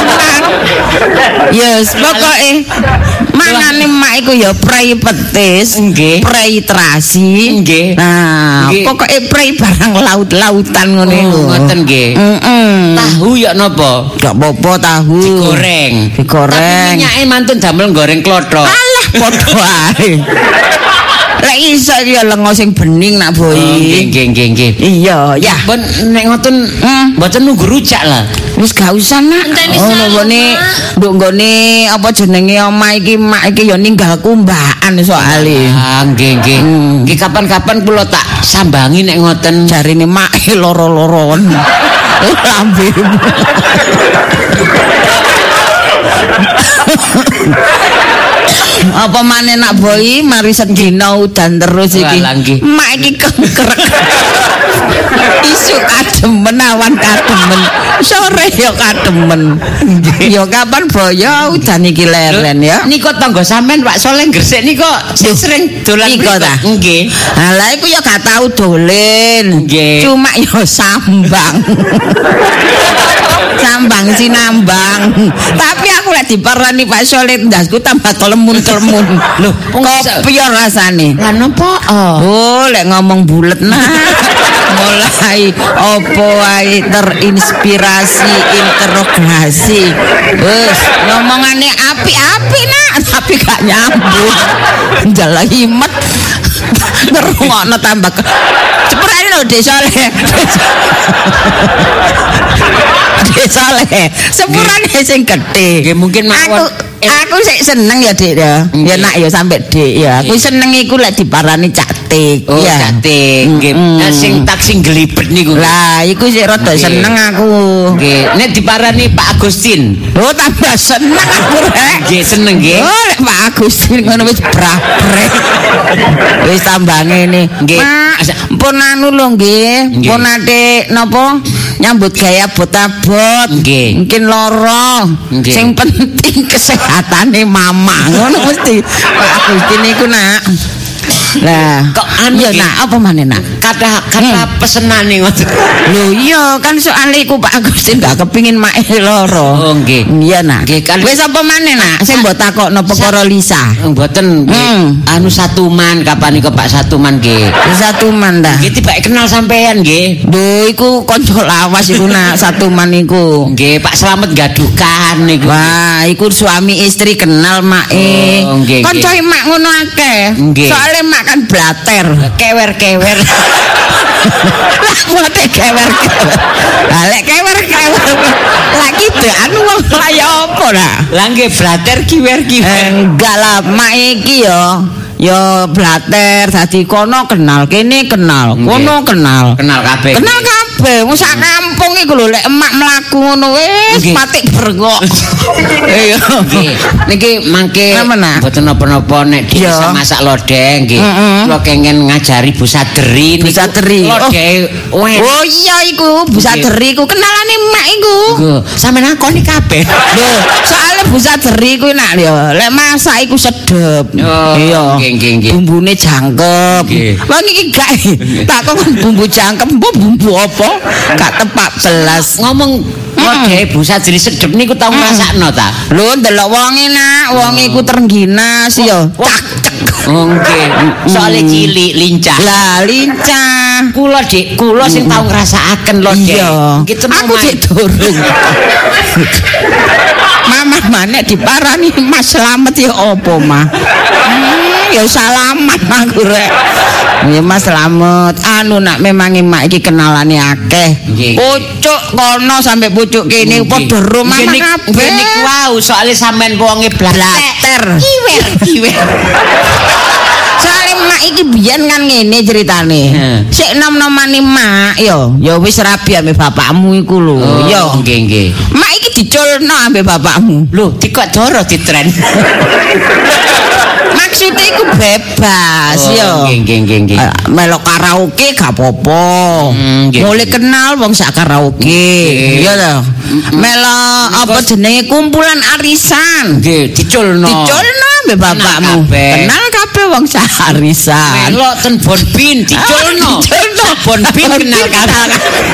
Speaker 1: Yes, pokoke mangane mak iku ya prei petis,
Speaker 2: Nggih.
Speaker 1: prei terasi.
Speaker 2: Nggih.
Speaker 1: Nah,
Speaker 2: Nggih.
Speaker 1: pokoke prei barang laut-lautan ngono iku.
Speaker 2: Oh, ngoten nggih.
Speaker 1: Heeh.
Speaker 2: Tahu ya napa?
Speaker 1: Gak apa-apa tahu.
Speaker 2: Digoreng.
Speaker 1: Digoreng.
Speaker 2: Tapi minyake mantun damel goreng klothok.
Speaker 1: Alah padha ae. Lek iso ya lengo sing bening nak
Speaker 2: Oh, nggih
Speaker 1: boi.
Speaker 2: nggih nggih nggih.
Speaker 1: Iya, ya.
Speaker 2: Pun nek ngoten
Speaker 1: Hmm.
Speaker 2: mboten nunggu rujak lah.
Speaker 1: Wis gak usah nak.
Speaker 3: Enteni
Speaker 1: Oh,
Speaker 3: saya,
Speaker 1: nggone
Speaker 3: Mak.
Speaker 1: nduk nggone apa jenenge omah iki mak iki ya ninggal kumbaan soalé.
Speaker 2: Ah, nggih nggih.
Speaker 1: Hmm.
Speaker 2: Nggih kapan-kapan kula tak sambangi nek ngoten.
Speaker 1: Jarine mak loro-loron. Lambemu. Apa maneh nak boi mari sedina udan terus iki.
Speaker 2: Walah, nggih.
Speaker 1: Mak iki kengkrek. Isu kademen awan kademen. Sore ya kademen. Ya kapan boyo udan iki leren ya.
Speaker 2: Niko tangga sampean Pak Soleh Gresik niko sing sering dolan
Speaker 1: Niko
Speaker 2: mriku.
Speaker 1: ta?
Speaker 2: Nggih.
Speaker 1: Lah iku ya gak tau dolen.
Speaker 2: Nggih.
Speaker 1: Cuma ya sambang. Sambang sinambang. Tapi aku lek diparani Pak Soleh ndasku tambah kelemun-kelemun.
Speaker 2: Loh,
Speaker 1: kopi ya rasane.
Speaker 2: Lah napa?
Speaker 1: Oh, lek ngomong bulet nah. Mulai opo wae terinspirasi interogasi. Wes ngomongane api-api nak, tapi gak nyambung. Njala himet. Ngerungokno tambah ke... Ceprane lho Dek Soleh. Dek Soleh. Sepurane sing gedhe.
Speaker 2: Nggih mungkin
Speaker 1: Aku
Speaker 2: mawon.
Speaker 1: aku sik seneng ya Dik ya. Ya nak ya sampe Dik ya. Aku seneng iku lek diparani Caktik.
Speaker 2: Oh,
Speaker 1: ya.
Speaker 2: jate. Nggih.
Speaker 1: Mm-mm.
Speaker 2: Nah, sing tak sing gelibet niku.
Speaker 1: Lah iku sik rada
Speaker 2: Nggih.
Speaker 1: seneng aku.
Speaker 2: Nggih, nek diparani Pak Agustin.
Speaker 1: Oh tambah seneng aku rek.
Speaker 2: Nggih, seneng nggih.
Speaker 1: Oh lek Pak Agustin ngono wis brabrek. Wis tambah ngene.
Speaker 2: Nggih.
Speaker 1: Mak,
Speaker 2: Asa-
Speaker 1: pun anu lho nggih.
Speaker 2: Nggih.
Speaker 1: Pun ate napa nyambut gaya abot-abot.
Speaker 2: Nggih.
Speaker 1: Mungkin loro.
Speaker 2: Nggih.
Speaker 1: Sing penting kesehatane mama ngono mesti. Pak Agustin iku nak. Lah,
Speaker 2: kok anu
Speaker 1: iya
Speaker 2: nggih.
Speaker 1: nak apa maneh nak?
Speaker 2: Kata kata pesenane ngoten.
Speaker 1: Lho iya kan soalnya iku Pak Agustin gak kepingin mae loro.
Speaker 2: Oh nggih.
Speaker 1: Iya nak.
Speaker 2: Nggih, kan-
Speaker 1: Wis apa maneh nak? Sing mbok takokno perkara Lisa.
Speaker 2: Mboten nggih.
Speaker 1: Hmm.
Speaker 2: Anu Satuman kapan iku Pak Satuman nggih.
Speaker 1: Satuman dah.
Speaker 2: Nggih tiba kenal sampean nggih.
Speaker 1: Lho iku kanca lawas iku nak Satuman iku.
Speaker 2: Nggih Pak Slamet gadukan niku.
Speaker 1: Wah, iku suami istri kenal make.
Speaker 2: Oh, nggih,
Speaker 1: Kanca mak ngono akeh.
Speaker 2: Nggih.
Speaker 1: Soale mak kan blater.
Speaker 2: Kewer-kewer.
Speaker 1: Lah mote kewer-kewer. Lah lek kewer-kewer. Lah gitu anu wong kaya apa lah?
Speaker 2: Lah nggih blater kiwer-kiwer.
Speaker 1: Enggak lah, mak iki yo yo blater dadi kono kenal, kene kenal, kono kenal.
Speaker 2: Kenal kabeh.
Speaker 1: Kenal kabeh, wong sak kampung iku lho lek emak mlaku ngono wis
Speaker 2: Nggih.
Speaker 1: patik berengok. Iya.
Speaker 2: Nggih. Niki mangke
Speaker 1: Napa, nak?
Speaker 2: mboten napa-napa nek
Speaker 1: Iya.
Speaker 2: bisa masak lodeh nggih.
Speaker 1: Heeh.
Speaker 2: Kula kengen ngajari Bu Sadri niku.
Speaker 1: Bu Sadri.
Speaker 2: Lodeh weh.
Speaker 1: Oh iya iku Bu Sadri iku kenalane emak iku.
Speaker 2: Lho, sampeyan akoni kabeh.
Speaker 1: Lho, soalnya Bu Sadri iku enak yo. Lek masak iku sedep.
Speaker 2: Oh,
Speaker 1: Iya.
Speaker 2: nggih, nggih, nggih.
Speaker 1: Bumbune jangkep.
Speaker 2: Nggih.
Speaker 1: Wong iki gak tak kok bumbu jangkep, mbok bumbu apa? Gak tepak belas.
Speaker 2: Ngomong lodeh Bu Sadri sedep niku tau ngrasakno ta?
Speaker 1: Lho ndelok wonge nak, wong iku terengginas yo. Cak cek.
Speaker 2: Oh nggih. Soale cilik lincah.
Speaker 1: Lah lincah.
Speaker 2: Kula Dik, kula sing tau ngrasakaken lodeh.
Speaker 1: Iya.
Speaker 2: Nggih tenang
Speaker 1: Aku
Speaker 2: wae.
Speaker 1: dik durung. Mama manek diparani Mas Slamet ya apa mah? Hmm, ya salaman aku rek. Ya Mas Slamet, anu nak memang emak iki kenalane akeh.
Speaker 2: Nggih.
Speaker 1: Pucuk kono sampai pucuk kene padha ro
Speaker 2: Nggih,
Speaker 1: mama
Speaker 2: nik-
Speaker 1: kabeh.
Speaker 2: nggih, niku wau soalé sampean wonge blater.
Speaker 1: Kiwer, kiwer. Soale mak iki biyen kan ngene ceritane.
Speaker 2: Heeh.
Speaker 1: Sik nom-nomane mak yo, ya wis rabi ambek bapakmu iku lho.
Speaker 2: Oh,
Speaker 1: Yo.
Speaker 2: nggih nggih.
Speaker 1: Mak iki diculno ambek bapakmu.
Speaker 2: Lho, dikok doro ditren.
Speaker 1: Maksudnya iku bebas
Speaker 2: Oh,
Speaker 1: yo.
Speaker 2: nggih nggih nggih nggih.
Speaker 1: Eh, Melok karaoke gak apa-apa.
Speaker 2: Hmm, nggih.
Speaker 1: Mulai kenal wong sak karaoke.
Speaker 2: Nggih.
Speaker 1: Iya to. Melok apa jenenge kumpulan arisan.
Speaker 2: Nggih, diculno.
Speaker 1: Diculno ambek bapakmu.
Speaker 2: kabeh.
Speaker 1: Kenal kabeh wong sak arisan.
Speaker 2: Melok ten Bonbin diculno.
Speaker 1: Diculno.
Speaker 2: Bonbin kenal kabeh.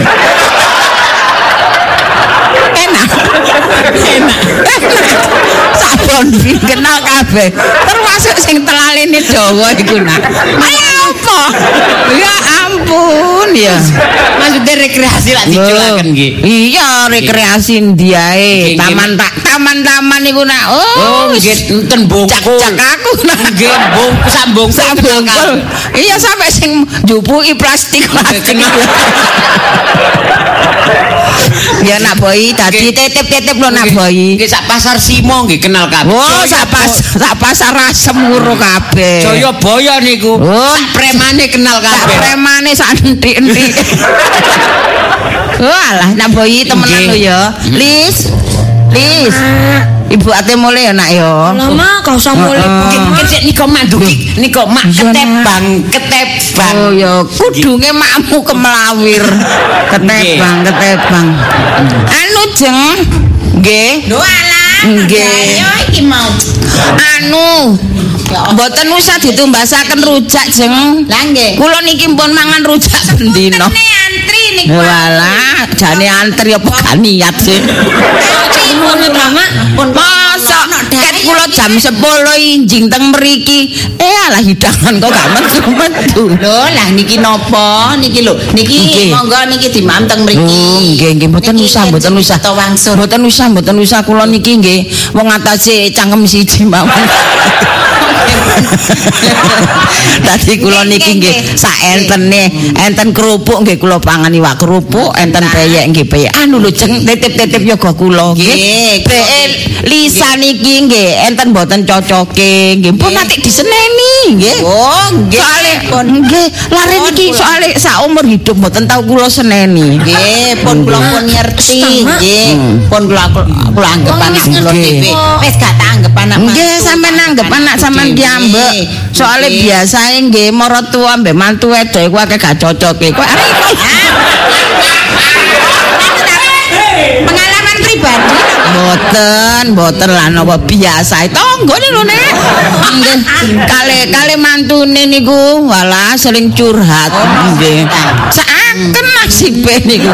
Speaker 1: Enak. Enak. Sabon bin kenal kabeh. Termasuk sing telalene Jawa iku nak. Ayo apa? Ya ampun ya.
Speaker 2: Maksudnya rekreasi lah diculaken nggih.
Speaker 1: Iya, rekreasi ndiae.
Speaker 2: Nggih,
Speaker 1: Taman tak taman-taman iku nak.
Speaker 2: Oh,
Speaker 1: Oh,
Speaker 2: nggih enten bongkul.
Speaker 1: cak-cak aku nak.
Speaker 2: Nggih, bongkul sambung
Speaker 1: Sabungkul. Iya sampai sing njupuki plastik plastik.
Speaker 2: kenal.
Speaker 1: Ya nak boy, tadi titip-titip lo nak boy.
Speaker 2: Nggih sak pasar Simo nggih kenal kabeh.
Speaker 1: Oh, sak pas sak pasar rasem nguro kabeh.
Speaker 2: Jayabaya niku.
Speaker 1: Oh.
Speaker 2: Sak premane kenal
Speaker 1: Sak
Speaker 2: kabeh.
Speaker 1: premane sak entik-entik. Walah, nak boy temenan
Speaker 2: Nggih.
Speaker 1: lo ya. Lis. Lis. Ibu ate mulai ya nak ya.
Speaker 3: Lama kau usah mulai.
Speaker 2: Nggih, nggih sik nika mak duki. Nika mak
Speaker 1: Iya, Nak.
Speaker 2: ketebang, ketebang.
Speaker 1: Oh ya, kudunge makmu kemelawir. Ketebang, ketebang. Anu jeng. Nggih.
Speaker 3: Lho alah.
Speaker 1: Nggih.
Speaker 3: Ayo iki mau.
Speaker 1: Anu. Mboten usah ditumbasaken rujak jeng.
Speaker 3: Lah nggih.
Speaker 1: Kula niki pun mangan rujak bendina.
Speaker 3: Ini antri niku.
Speaker 1: Walah, jane antri apa gak niat sih.
Speaker 3: Ngono ta, Mak? Pun
Speaker 1: Masa ket kula jam sepuluh injing teng mriki. Eh alah hidangan kok gak metu-metu.
Speaker 3: Lho, lah niki napa? Niki lho, niki
Speaker 1: Nggih.
Speaker 3: monggo niki dimam teng mriki.
Speaker 1: Oh, nggih nggih mboten
Speaker 3: Niki
Speaker 1: usah mboten
Speaker 3: Kenji
Speaker 1: usah.
Speaker 3: Beto Wangsul.
Speaker 1: Mboten usah mboten usah kula niki nggih wong atase cangkem siji mawon. Dadi kula niki nggih sak entene, enten kerupuk nggih kula pangan iwak kerupuk, enten peyek nggih peyek. Anu lho jeng titip-titip yoga kula nggih.
Speaker 3: Nggih,
Speaker 1: Beke Lisa niki nggih enten mboten cocoke nggih. Pun nanti diseneni nggih.
Speaker 3: Oh, nggih.
Speaker 1: Soale
Speaker 3: Pun
Speaker 1: nggih lare
Speaker 3: Pun
Speaker 1: niki
Speaker 3: kula-
Speaker 1: soale saumur hidup mboten tau kula seneni.
Speaker 3: Nggih, pun kula pun ngerti
Speaker 1: Hmm.
Speaker 3: nggih. Pun kula kula anggap
Speaker 1: Oh,
Speaker 3: anak
Speaker 1: wis
Speaker 3: kula
Speaker 1: ngerti.
Speaker 3: dhewe. Wis gak tak anggap anak.
Speaker 1: Nggih, sampean nanggep anak sampean piyambak. Soale biasae nggih maratuwa mbek mantu wedok iku akeh gak cocoke. Kok arek
Speaker 3: pengalaman pribadi.
Speaker 1: Oh, Mboten, mboten lah napa biasa. Tonggone lho Nek. Nggih. Kale kale mantune niku walah sering curhat. Nggih. Saken nasibe niku.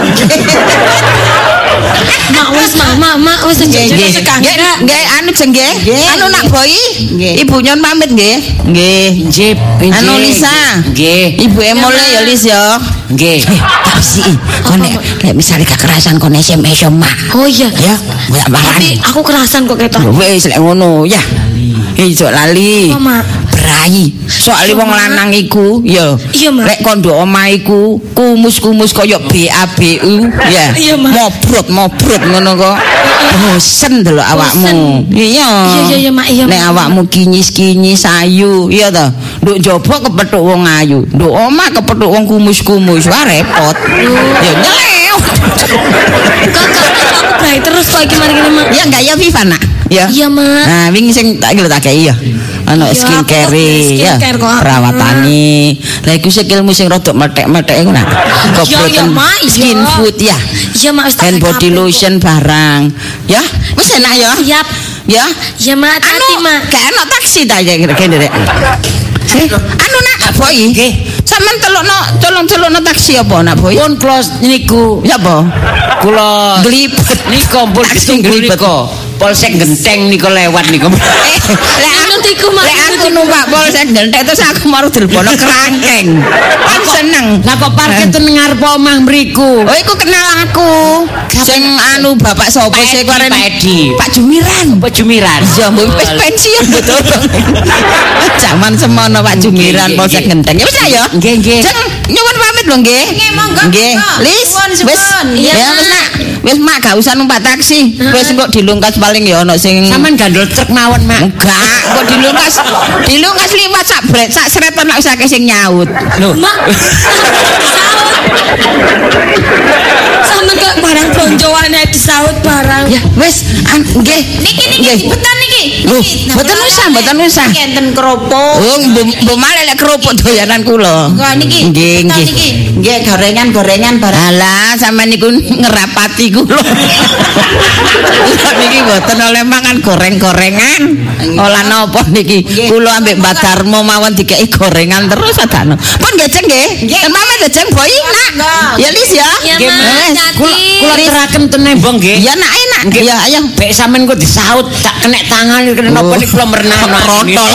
Speaker 3: Mak wis mak mak mak wis
Speaker 1: Nggih, nggih anu nggih. Anu nak Boy. Ibu nyon pamit nggih. Nggih.
Speaker 2: Nggih.
Speaker 1: Anu Lisa.
Speaker 2: Nggih.
Speaker 1: Ibu emole ya Lis ya.
Speaker 2: Nggih.
Speaker 1: Tak sih. Kon nek nek misale kekerasan kon S M S Mak.
Speaker 3: Oh iya.
Speaker 1: Ya, mbak
Speaker 3: Tapi aku kerasan kok ketok.
Speaker 1: wis lek ngono ya. Ijo lali.
Speaker 3: Apa, Mak?
Speaker 1: Berai. Soale wong lanang iku ya.
Speaker 3: Iya, Mak.
Speaker 1: Lek kondo omah iku kumus-kumus kaya B A B U ya.
Speaker 3: Iya, Mak.
Speaker 1: Mobrot mobrot ngono kok. Bosen delok awakmu. Iya.
Speaker 3: Iya iya iya Mak, iya.
Speaker 1: Nek awakmu kinyis-kinyis ayu, iya to. Nduk njaba kepethuk wong ayu, nduk omah kepethuk wong kumus-kumus, wah repot. Ya nyeleo.
Speaker 3: Kakak aku baik terus kok iki mari kene Mak.
Speaker 1: Ya enggak ya Viva nak. Ya.
Speaker 3: Iya Mak.
Speaker 1: Nah, wingi sing tak iki lho tak kei ya. Ana
Speaker 3: Iya,
Speaker 1: skincare
Speaker 3: aku
Speaker 1: ya.
Speaker 3: skincare kok.
Speaker 1: Perawatane. Lah iku sikilmu sing rodok methek-methek iku nak.
Speaker 3: Iya, iya, Mak, iya.
Speaker 1: Skin food ya.
Speaker 3: Iya Mak wis tak
Speaker 1: Hand body
Speaker 3: kabeh kok.
Speaker 1: lotion barang. Ya, wis enak ya.
Speaker 3: Siap.
Speaker 1: Ya.
Speaker 3: Iya Mak, hati
Speaker 1: Anu,
Speaker 3: Mak.
Speaker 1: gak enak taksi ta ya kene rek. Eh, anu nak Boy.
Speaker 2: Nggih.
Speaker 1: Sampeyan telukno tolong-telukno taksi apa nak Boy?
Speaker 2: Pun kula niku
Speaker 1: Ya apa?
Speaker 2: kula
Speaker 1: Glibet.
Speaker 2: nika pun
Speaker 1: Taksi
Speaker 2: ditunggu
Speaker 1: glibet.
Speaker 2: nika. Polsek Genteng nika lewat niku.
Speaker 1: Eh, lek
Speaker 3: Menurut iku, Mak.
Speaker 1: lek aku numpak Polsek Genteng terus aku mau dilbono kerangkeng. Kan seneng.
Speaker 2: Lah kok parkir ten ngarep omah mriku.
Speaker 1: Oh, iku kenal aku. Sing anu bapak sapa
Speaker 2: Pak
Speaker 1: sih
Speaker 2: Edi,
Speaker 1: karen?
Speaker 2: Pak Edi.
Speaker 1: Pak Jumiran.
Speaker 2: Pak Jumiran.
Speaker 1: Ya, mbok wis pensiun betul. Zaman semono Pak Jumiran
Speaker 2: Nggih,
Speaker 1: Polsek
Speaker 2: nggih.
Speaker 1: Genteng. Ya wis ya.
Speaker 2: Nggih, nggih.
Speaker 1: Jeng nyuwun pamit lho nggih.
Speaker 3: Nggih, monggo,
Speaker 1: Nggih.
Speaker 3: monggo.
Speaker 1: Lis,
Speaker 3: Suwun,
Speaker 1: wis.
Speaker 3: suwun.
Speaker 1: Ya
Speaker 3: Iya,
Speaker 1: wis
Speaker 3: Mak.
Speaker 1: nak. Wis mak gak usah numpak taksi. Wis engko dilungkas paling ya ana sing
Speaker 2: Saman gandol truk mawon, Mak.
Speaker 1: enggak, kok dilungkas dilungkas liwat sak bret sak sretan nek usah sing nyaut.
Speaker 2: Lho.
Speaker 3: Mak. Sampe kok barang blonjoane disaut barang.
Speaker 1: Ya wis an- nggih.
Speaker 3: Niki niki
Speaker 1: Nggih.
Speaker 3: cepetan niki.
Speaker 1: Loh,
Speaker 3: Niki, nah,
Speaker 1: mboten
Speaker 3: ora
Speaker 1: usah,
Speaker 3: ora,
Speaker 1: mboten
Speaker 3: Nek.
Speaker 1: usah.
Speaker 3: Niki enten kerupuk.
Speaker 1: Oh, mbok mbok malah lek kerupuk doyanan kula.
Speaker 3: Enggak niki.
Speaker 1: Nggih,
Speaker 3: cepetan
Speaker 1: nggih.
Speaker 3: niki.
Speaker 1: Nggih, gorengan-gorengan barang. Alah, sampean niku ngerapati kula. Kula niki mboten oleh mangan goreng-gorengan. Olah napa niki? Kula ambek Mbak Darmo mawon dikeki gorengan terus adano. Pun nggih, Jeng nggih. Kan pamit ya, Jeng Boy, Nak. Ya Lis ya.
Speaker 3: Iya,
Speaker 1: Nggih,
Speaker 3: Mak.
Speaker 1: wes.
Speaker 3: Hati.
Speaker 2: Kula kula teraken tenembong nggih.
Speaker 1: Ya nak enak. Ya ayo.
Speaker 2: Bek sampean kok disaut tak kena tangan kena napa
Speaker 1: Oh.
Speaker 2: niku kula merenah
Speaker 1: Protol.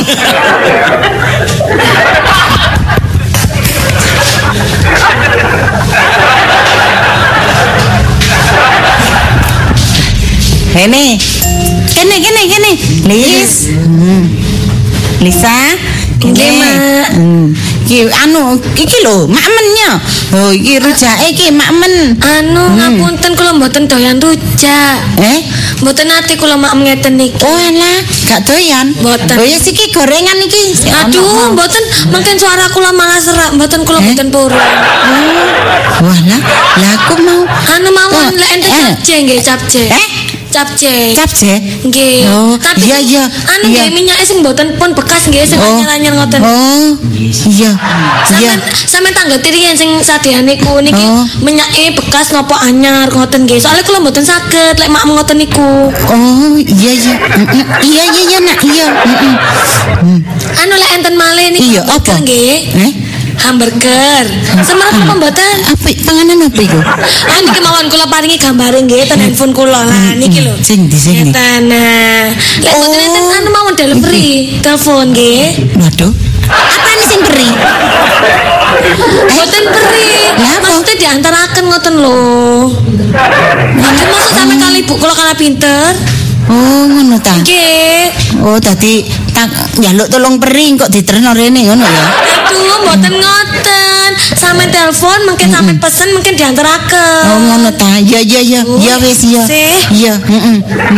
Speaker 1: Kene. Kene kene kene. Lis. Hmm. Lisa.
Speaker 3: Nggih, Mak.
Speaker 1: Hmm. Iki anu iki lho, makmennya. Oh, iki rujake iki makmen.
Speaker 3: Anu ngapunten kula mboten doyan rujak.
Speaker 1: Eh?
Speaker 3: Mboten ate kula mak ngeten niki.
Speaker 1: Oh alah, gak doyan.
Speaker 3: Mboten.
Speaker 1: Oh ya iki gorengan iki. Si
Speaker 3: Aduh,
Speaker 1: ono.
Speaker 3: mboten mungkin suara kula malah serak, mboten kula
Speaker 1: Eh?
Speaker 3: mboten purun.
Speaker 1: Walah, lah aku mau
Speaker 3: Anu mawon
Speaker 1: Oh,
Speaker 3: lek enten
Speaker 1: eh.
Speaker 3: capce nggih, capce.
Speaker 1: Eh?
Speaker 3: Capce.
Speaker 1: capce.
Speaker 3: Nggih.
Speaker 1: Oh,
Speaker 3: Tapi
Speaker 1: iya, iya,
Speaker 3: anu
Speaker 1: iya.
Speaker 3: nggih minyake sing mboten pun bekas nggih sing
Speaker 1: Oh.
Speaker 3: anyar-anyar ngoten.
Speaker 1: Oh, iya. Iya.
Speaker 3: Sampeyan sampeyan tangga tirian sing sadehane ku niki
Speaker 1: Oh.
Speaker 3: minyake bekas napa anyar ngoten nggih. Soalnya kula mboten saged lek mak ngoten niku.
Speaker 1: Oh, iya iya. Mm-mm. Iya iya iya nak, iya. Mm-mm.
Speaker 3: Anu lek enten malih niki
Speaker 1: Iya,
Speaker 3: hamburger
Speaker 1: apa?
Speaker 3: nggih.
Speaker 1: Eh?
Speaker 3: Hamburger. Semerap apa mboten?
Speaker 1: Apa panganan apa iku?
Speaker 3: Ah niki mawon kula paringi gambare nggih ten handphone kula lah niki lho.
Speaker 1: Sing di sini.
Speaker 3: Ngeten. Nah, lek
Speaker 1: Oh.
Speaker 3: mboten enten anu mawon delivery telepon nggih.
Speaker 1: Waduh. Apa ini sing beri?
Speaker 3: Mboten peri.
Speaker 1: Lah, apa?
Speaker 3: Maksudnya diantaraken ngoten lho. Mboten maksud sampe kali ibu kula kala pinter.
Speaker 1: Oh, ngono ta.
Speaker 3: Nggih.
Speaker 1: Oh, dadi tak njaluk tolong peri kok diterno rene ngono ya.
Speaker 3: Aduh, mboten ngoten. Sampe telepon mungkin sampe pesen mungkin diantaraken.
Speaker 1: Oh, ngono ta. Iya iya iya. Iya wis iya.
Speaker 3: Sih.
Speaker 1: Iya, heeh.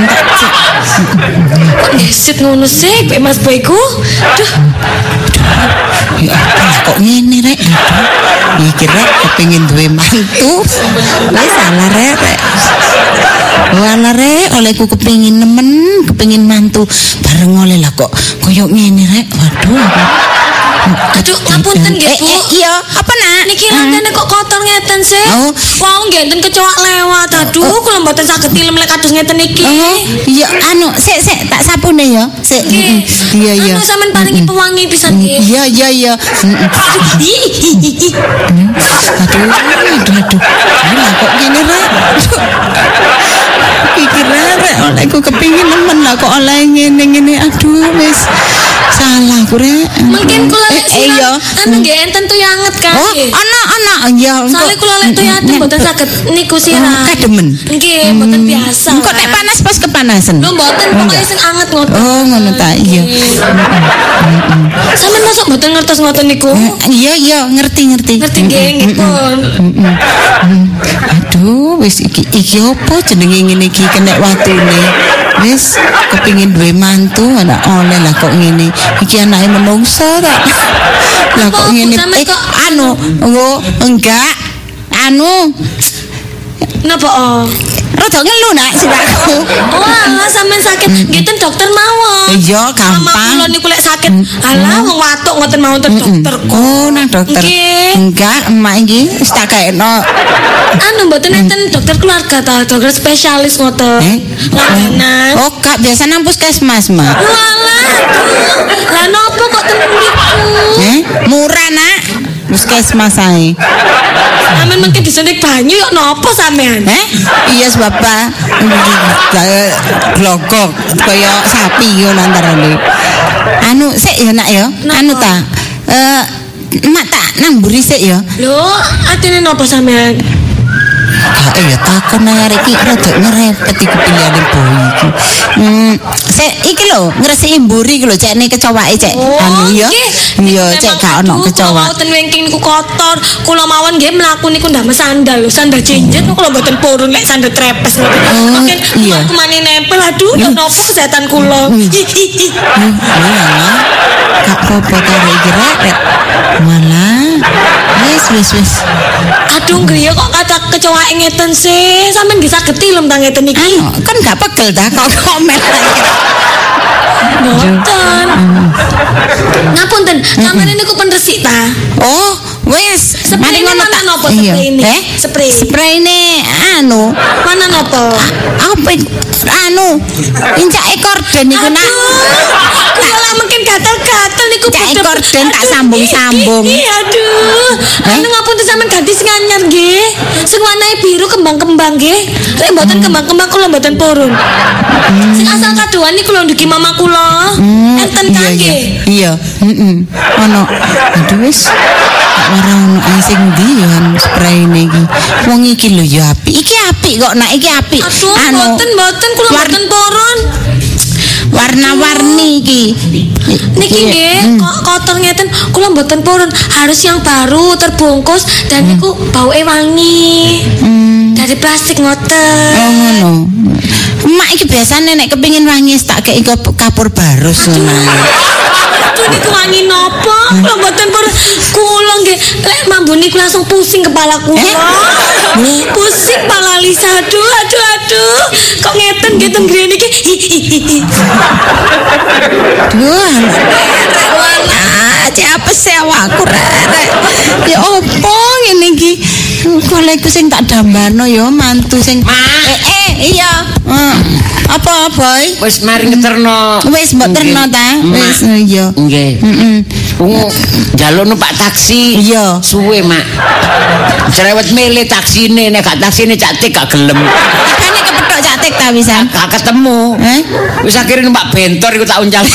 Speaker 3: Kok ngesit ngono sih, Pak Mas Boyku? Duh,
Speaker 1: Ya alah, kok ngene rek. Aduh. Iki rek kepengin duwe mantu. Wis salah rek. Rek. Walah rek, olehku kepengin nemen, kepengin mantu bareng oleh lah kok koyo ngene rek. Waduh.
Speaker 3: Aduh, ngapunten nggih, Bu.
Speaker 1: Eh, eh, iya, apa nak?
Speaker 3: Niki lantene kok kotor ngeten sih.
Speaker 1: Oh.
Speaker 3: Wau ngenten kecoak lewat. Aduh, kula mboten saged tilem lek kados ngeten iki.
Speaker 1: Oh, iya anu, sik sik tak sapune ya. Sik.
Speaker 3: Nggih.
Speaker 1: Iya iya.
Speaker 3: Anu sampean paringi pewangi pisan nggih.
Speaker 1: Iya iya iya. Aduh, aduh aduh. Ini kok gini rek. Pikiran rek, oleh aku kepingin nemen lah kok oleh ngene-ngene. Aduh, wis salah ku rek.
Speaker 3: Mungkin kula lek
Speaker 1: Eh, iya.
Speaker 3: anu nggih enten tuyanget kan.
Speaker 1: Oh,
Speaker 3: nggih.
Speaker 1: ana ana iya.
Speaker 3: Soale kula lek tuyanget mboten saged niku sirah.
Speaker 1: Kademen.
Speaker 3: Nggih, mboten biasa.
Speaker 1: Kok nek panas pas kepanasan.
Speaker 3: Lho mboten pokoke sing anget ngoten.
Speaker 1: Oh, ngono ta. Iya.
Speaker 3: Sampeyan masuk mboten ngertos ngoten niku.
Speaker 1: Iya iya, ngerti-ngerti.
Speaker 3: Ngerti nggih, nggih pun.
Speaker 1: Aduh, wis iki iki opo jenenge ngene iki kena watune. Wis kepingin duwe mantu anak oleh lah kok ngene. Iki anake menungso ta. Lah kok
Speaker 3: Apa,
Speaker 1: ngene
Speaker 3: sampe
Speaker 1: eh
Speaker 3: kok-
Speaker 1: anu, oh enggak. Anu,
Speaker 3: Napa oh?
Speaker 1: rada ngelu nak siraku.
Speaker 3: Oh, alah sampean sakit. Nggih ten dokter mawon.
Speaker 1: Iya,
Speaker 3: Mama
Speaker 1: gampang.
Speaker 3: kula niku lek sakit, alah wong watuk ngoten mawon ten dokter.
Speaker 1: Oh, nang dokter.
Speaker 3: Nggih.
Speaker 1: Enggak, emak iki wis tak gaekno.
Speaker 3: Anu mboten enten dokter keluarga ta, dokter spesialis ngoten.
Speaker 1: Eh?
Speaker 3: Langganan.
Speaker 1: Oh, kak biasa nang puskesmas, Mak.
Speaker 3: Walah, aduh. Lah nopo kok ten mriku?
Speaker 1: Eh, murah nak. Puskesmas ae.
Speaker 3: Sampeyan mengke disuntik banyu yo nopo sampean?
Speaker 1: Eh? Iya bapak. Kayak glogok kaya sapi yo antarane. Anu sik ya nak ya. Anu ta. Eh mak tak nang mburi sik ya.
Speaker 3: Lho, atine nopo sampean?
Speaker 1: Kak ya takon nang arek iki rada ngerepet iki pilihane boy iki. Hmm, sik iki lho ngresiki mburi iki lho cekne kecowake cek. Anu ya. Iya cek gak ono kecoa.
Speaker 3: Kula ten wingking niku kotor. Kula mawon nggih mlaku niku ndamel sandal lho, sandal jinjet kula mboten purun lek sandal trepes ngoten.
Speaker 1: Oh,
Speaker 3: Mungkin
Speaker 1: iya.
Speaker 3: aku mani nempel aduh yo nopo kesehatan kula.
Speaker 1: Hmm, malah gak apa-apa karo iki rek. Malah wis wis wis.
Speaker 3: Aduh griya kok kata kecoa ngeten sih. Sampeyan nggih saged tilem ta ngeten iki.
Speaker 1: Anu kan gak pegel dah kok komen aja.
Speaker 3: Mboten. Ngapunten, sampeyan niku pen resik ta?
Speaker 1: Oh, wis.
Speaker 3: Spray ini mana nopo
Speaker 1: Iya.
Speaker 3: spray ini?
Speaker 1: Eh?
Speaker 3: Spray.
Speaker 1: Spray ini anu,
Speaker 3: Mana nopo?
Speaker 1: apa itu? Anu, injak ekor dan niku nak.
Speaker 3: Aduh, kula lah mungkin gatel-gatel niku
Speaker 1: Cak
Speaker 3: bedep.
Speaker 1: ekor den tak
Speaker 3: Aduh,
Speaker 1: sambung-sambung.
Speaker 3: ih, ih, Aduh.
Speaker 1: Eh?
Speaker 3: Anu ngapunten sampean ganti sing anyar nggih. Sing warnane biru kembang-kembang nggih. Lek mboten kembang-kembang kula mboten purun. Sing asal kadoan niku lho ndugi mama kula. Enten
Speaker 1: Iya
Speaker 3: kan
Speaker 1: iya.
Speaker 3: nggih.
Speaker 1: Iya, heeh. Ono. Aduh wis. Tak ora ono ae sing ndi ya anu spray ini iki. Wong iki lho ya apik. Iki apik kok nak iki apik.
Speaker 3: Aduh,
Speaker 1: Anu,
Speaker 3: mboten mboten kula
Speaker 1: war-
Speaker 3: mboten purun.
Speaker 1: warna-warni iki.
Speaker 3: Niki
Speaker 1: Iya.
Speaker 3: nggih, kok kotor ngeten kula mboten purun, harus yang baru terbungkus dan niku bauke wangi.
Speaker 1: Hmm.
Speaker 3: Dari plastik ngoten.
Speaker 1: Oh ngono. Mak iki biasane nek kepengin wangi tak kei kapur barus ngono.
Speaker 3: Aduh niku wangi nopo? Kula mboten purun. Kula nggih lek mambu niku langsung pusing kepala kula. Pusing kepala Lisa. Aduh aduh aduh. Kok ngeten nggih ten grene iki.
Speaker 1: Duh, wala, siapa sih awakku rek? Ya opo ngene iki? Golek sing tak dambano ya mantu sing eh, eh iya. Eh, apa boy?
Speaker 2: Wis mari ngeterno.
Speaker 1: Wis mbok terno ta? Wis iya.
Speaker 2: Nggih.
Speaker 1: Heeh.
Speaker 2: Wong njaluk numpak taksi.
Speaker 1: Iya.
Speaker 2: Suwe, Mak. Cerewet milih taksine nek gak taksine cak tik gak gelem.
Speaker 1: Makane kepethuk catek ta wisan.
Speaker 2: Gak ketemu.
Speaker 1: Eh?
Speaker 2: Wis akhirnya numpak bentor iku tak uncal.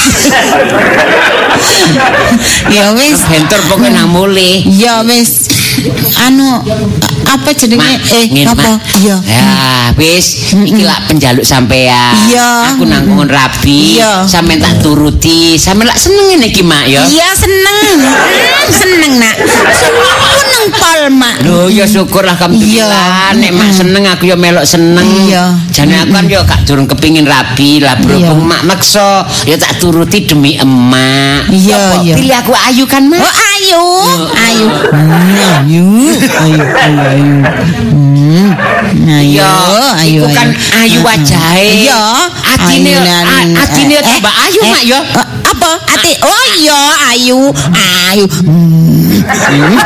Speaker 1: Ya wis.
Speaker 2: Bentor pokoknya nang mulih.
Speaker 1: Ya wis. Anu apa jenenge
Speaker 2: Mak,
Speaker 1: eh
Speaker 2: ngene,
Speaker 1: apa?
Speaker 2: Mak.
Speaker 1: Iya.
Speaker 2: Ya, wis iki lak penjaluk sampean.
Speaker 1: Iya.
Speaker 2: Aku nanggung rabi.
Speaker 1: Iya.
Speaker 2: Sampeyan tak turuti. Sampeyan lak seneng ngene iki, Mak ya.
Speaker 1: Iya seneng. Hmm, seneng nak. Seneng pol mak.
Speaker 2: Lho ya syukur alhamdulillah.
Speaker 1: Iya.
Speaker 2: Nek mak seneng aku ya melok seneng.
Speaker 1: Iya.
Speaker 2: Jane aku kan ya gak durung kepingin rabi lah berhubung
Speaker 1: Iya.
Speaker 2: mak maksa ya tak turuti demi emak.
Speaker 1: Iya,
Speaker 2: Apa,
Speaker 1: iya.
Speaker 2: Pilih aku ayu kan, Mak?
Speaker 1: Oh ayu, ayu, ayu, ayu, ayu, ayu, hmm, ayu,
Speaker 2: Iya,
Speaker 1: ayu,
Speaker 2: iku kan ayu wajahe.
Speaker 1: Iya,
Speaker 2: Atine
Speaker 1: ayunan,
Speaker 2: a- atine
Speaker 1: eh,
Speaker 2: tambah ayu,
Speaker 1: eh,
Speaker 2: Mak ya.
Speaker 1: eh, apa apa? Ati. Oh iya, ayu, ayu. Ayu,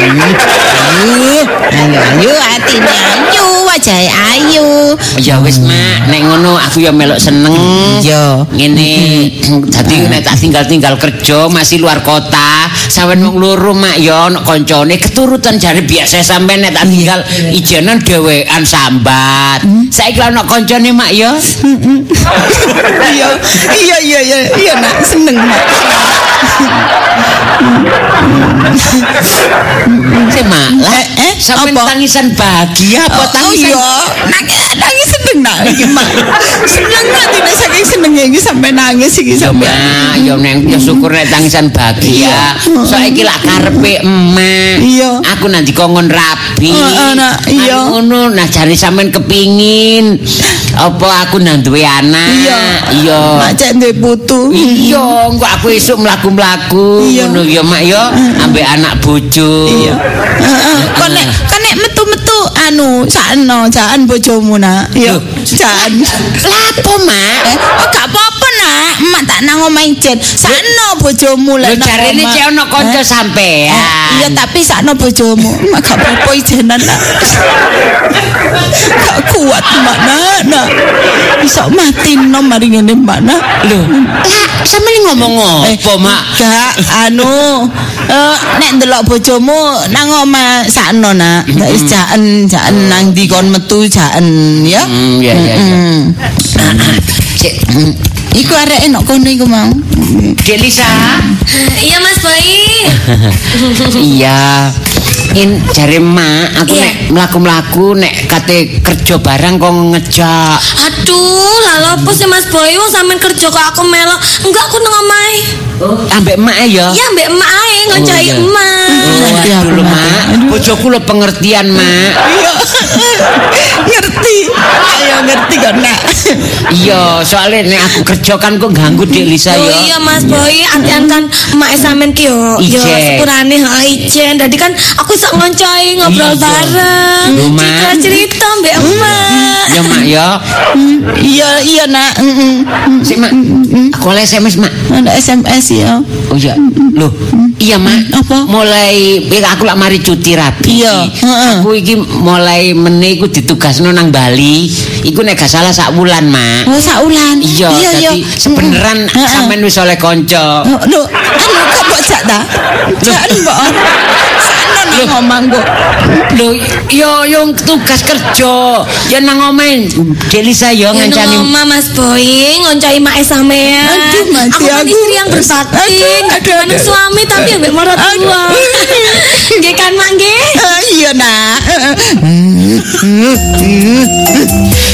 Speaker 1: ayu, ayu, atine ayu, wajahe ayu.
Speaker 2: Ya wis mak, nek ngono aku ya melok seneng.
Speaker 1: Iya.
Speaker 2: Ngene dadi nek tak tinggal-tinggal kerja masih luar kota, sampean wong loro mak ya ana kancane keturutan jare biasa sampean nek tak tinggal ijenan dhewean sambat. Saiki ana kancane mak ya.
Speaker 1: Iya, iya, iya, iya, iya nak seneng mak.
Speaker 2: Si mak, lah
Speaker 1: eh
Speaker 2: sampean tangisan bahagia apa
Speaker 1: Oh
Speaker 2: tangisan?
Speaker 1: iya, nangis nangis seneng nak iki mak. Seneng nanti nek saking senenge iki sampe nangis iki
Speaker 2: Ya
Speaker 1: sampe.
Speaker 2: mak, ya neng ya syukur nek tangisan bahagia. Saiki lak karepe emak.
Speaker 1: Iya.
Speaker 2: Aku nanti kongon rabi.
Speaker 1: Heeh, nak, iya.
Speaker 2: Anu ngono, nah jare sampean kepingin apa aku nang duwe anak.
Speaker 1: Iya.
Speaker 2: Iya.
Speaker 1: Mak cek duwe putu.
Speaker 2: Iya, engko aku esuk mlaku-mlaku
Speaker 1: Iya.
Speaker 2: ngono ya mak ya, ambek anak bojo.
Speaker 1: Iya. Heeh. Kok nek kok nek metu-metu anu sakno jakan bojomu nak. Iya. Jakan.
Speaker 2: Lapo mak?
Speaker 1: Eh, oh gak apa-apa nak. Emak tak nang omahe jen. Sakno bojomu
Speaker 2: Lho
Speaker 1: lek nang
Speaker 2: jarene
Speaker 1: omah.
Speaker 2: cek ono kanca
Speaker 1: Eh?
Speaker 2: sampean.
Speaker 1: Iya tapi sakno bojomu. Mak gak apa-apa ijenan nak. Gak kuat mak nak. Nak. Iso mati no mari ngene mak nak.
Speaker 2: Lho, lah sampeyan ngomong apa mak?
Speaker 1: Gak anu eh, nek ndelok bojomu nang omah sakno nak. Gak wis jaken jaken nang ndi kon metu jaken ya.
Speaker 2: Hmm, ya ya ya.
Speaker 1: Mm.
Speaker 2: Cek,
Speaker 1: Iku arek enak kono iku mau.
Speaker 2: Dek Lisa.
Speaker 3: Iya Mas Boy.
Speaker 2: Iya. In jare mak aku
Speaker 3: Iya.
Speaker 2: nek mlaku-mlaku nek kate kerja barang kok ngejak.
Speaker 3: Aduh, lalu apa sih Mas Boy? Wong sampean kerja kok aku melok. Enggak, aku nang omahe.
Speaker 2: Ambek mak ya.
Speaker 3: Iya, mbek emak ae ngoncai
Speaker 2: Oh, iya.
Speaker 3: emak.
Speaker 1: Ngerti aku,
Speaker 2: Aduh,
Speaker 1: Mak.
Speaker 2: mak, bojoku lo pengertian mak.
Speaker 1: Iya. Ngerti. Ayo ngerti kok nak.
Speaker 2: Iya, soalnya nek aku kerja kan kok ganggu Dek Lisa
Speaker 3: Oh
Speaker 2: ya.
Speaker 3: iya Mas Boy, antian kan emak sampean ki yo yo
Speaker 2: Ijen.
Speaker 3: sepurane ha ijen. Dadi kan aku iso ngoncai ngobrol
Speaker 2: Iya.
Speaker 3: bareng.
Speaker 2: Lho, Mak.
Speaker 3: Cerita-cerita mbek emak.
Speaker 2: Ya mak ya.
Speaker 1: Iya iya nak. Heeh.
Speaker 2: Sik mak, aku oleh S M S mak.
Speaker 1: Ada S M S ya.
Speaker 2: Oh iya. Loh, iya mak.
Speaker 1: Apa?
Speaker 2: Mulai aku lak mari cuti rabi.
Speaker 1: Iya, heeh.
Speaker 2: Aku iki mulai meneh iku ditugasno nang Bali. Iku nek gak salah sak wulan, Mak.
Speaker 1: Oh saulan.
Speaker 2: Iya, jadi sebeneran
Speaker 1: Heeh.
Speaker 2: sampean wis oleh kanca.
Speaker 1: Oh, lho, anu kok mbok jak ta? Jak mbok. Sakno nang omah kok.
Speaker 2: Lho, yo yo tugas kerja. Ya nang omahe Dek Lisa yo
Speaker 3: Ya nang
Speaker 2: ngancani.
Speaker 3: omah Mas Boy ngoncai emak sampean.
Speaker 1: Aduh, mati
Speaker 3: Aku kan
Speaker 1: aku.
Speaker 3: istri yang berbakti,
Speaker 1: Aduh,
Speaker 3: nggak
Speaker 1: aduh,
Speaker 3: cuma
Speaker 1: aduh.
Speaker 3: suami tapi ambek marot tua. Nggih kan Mak nggih?
Speaker 1: Eh, Iya nak.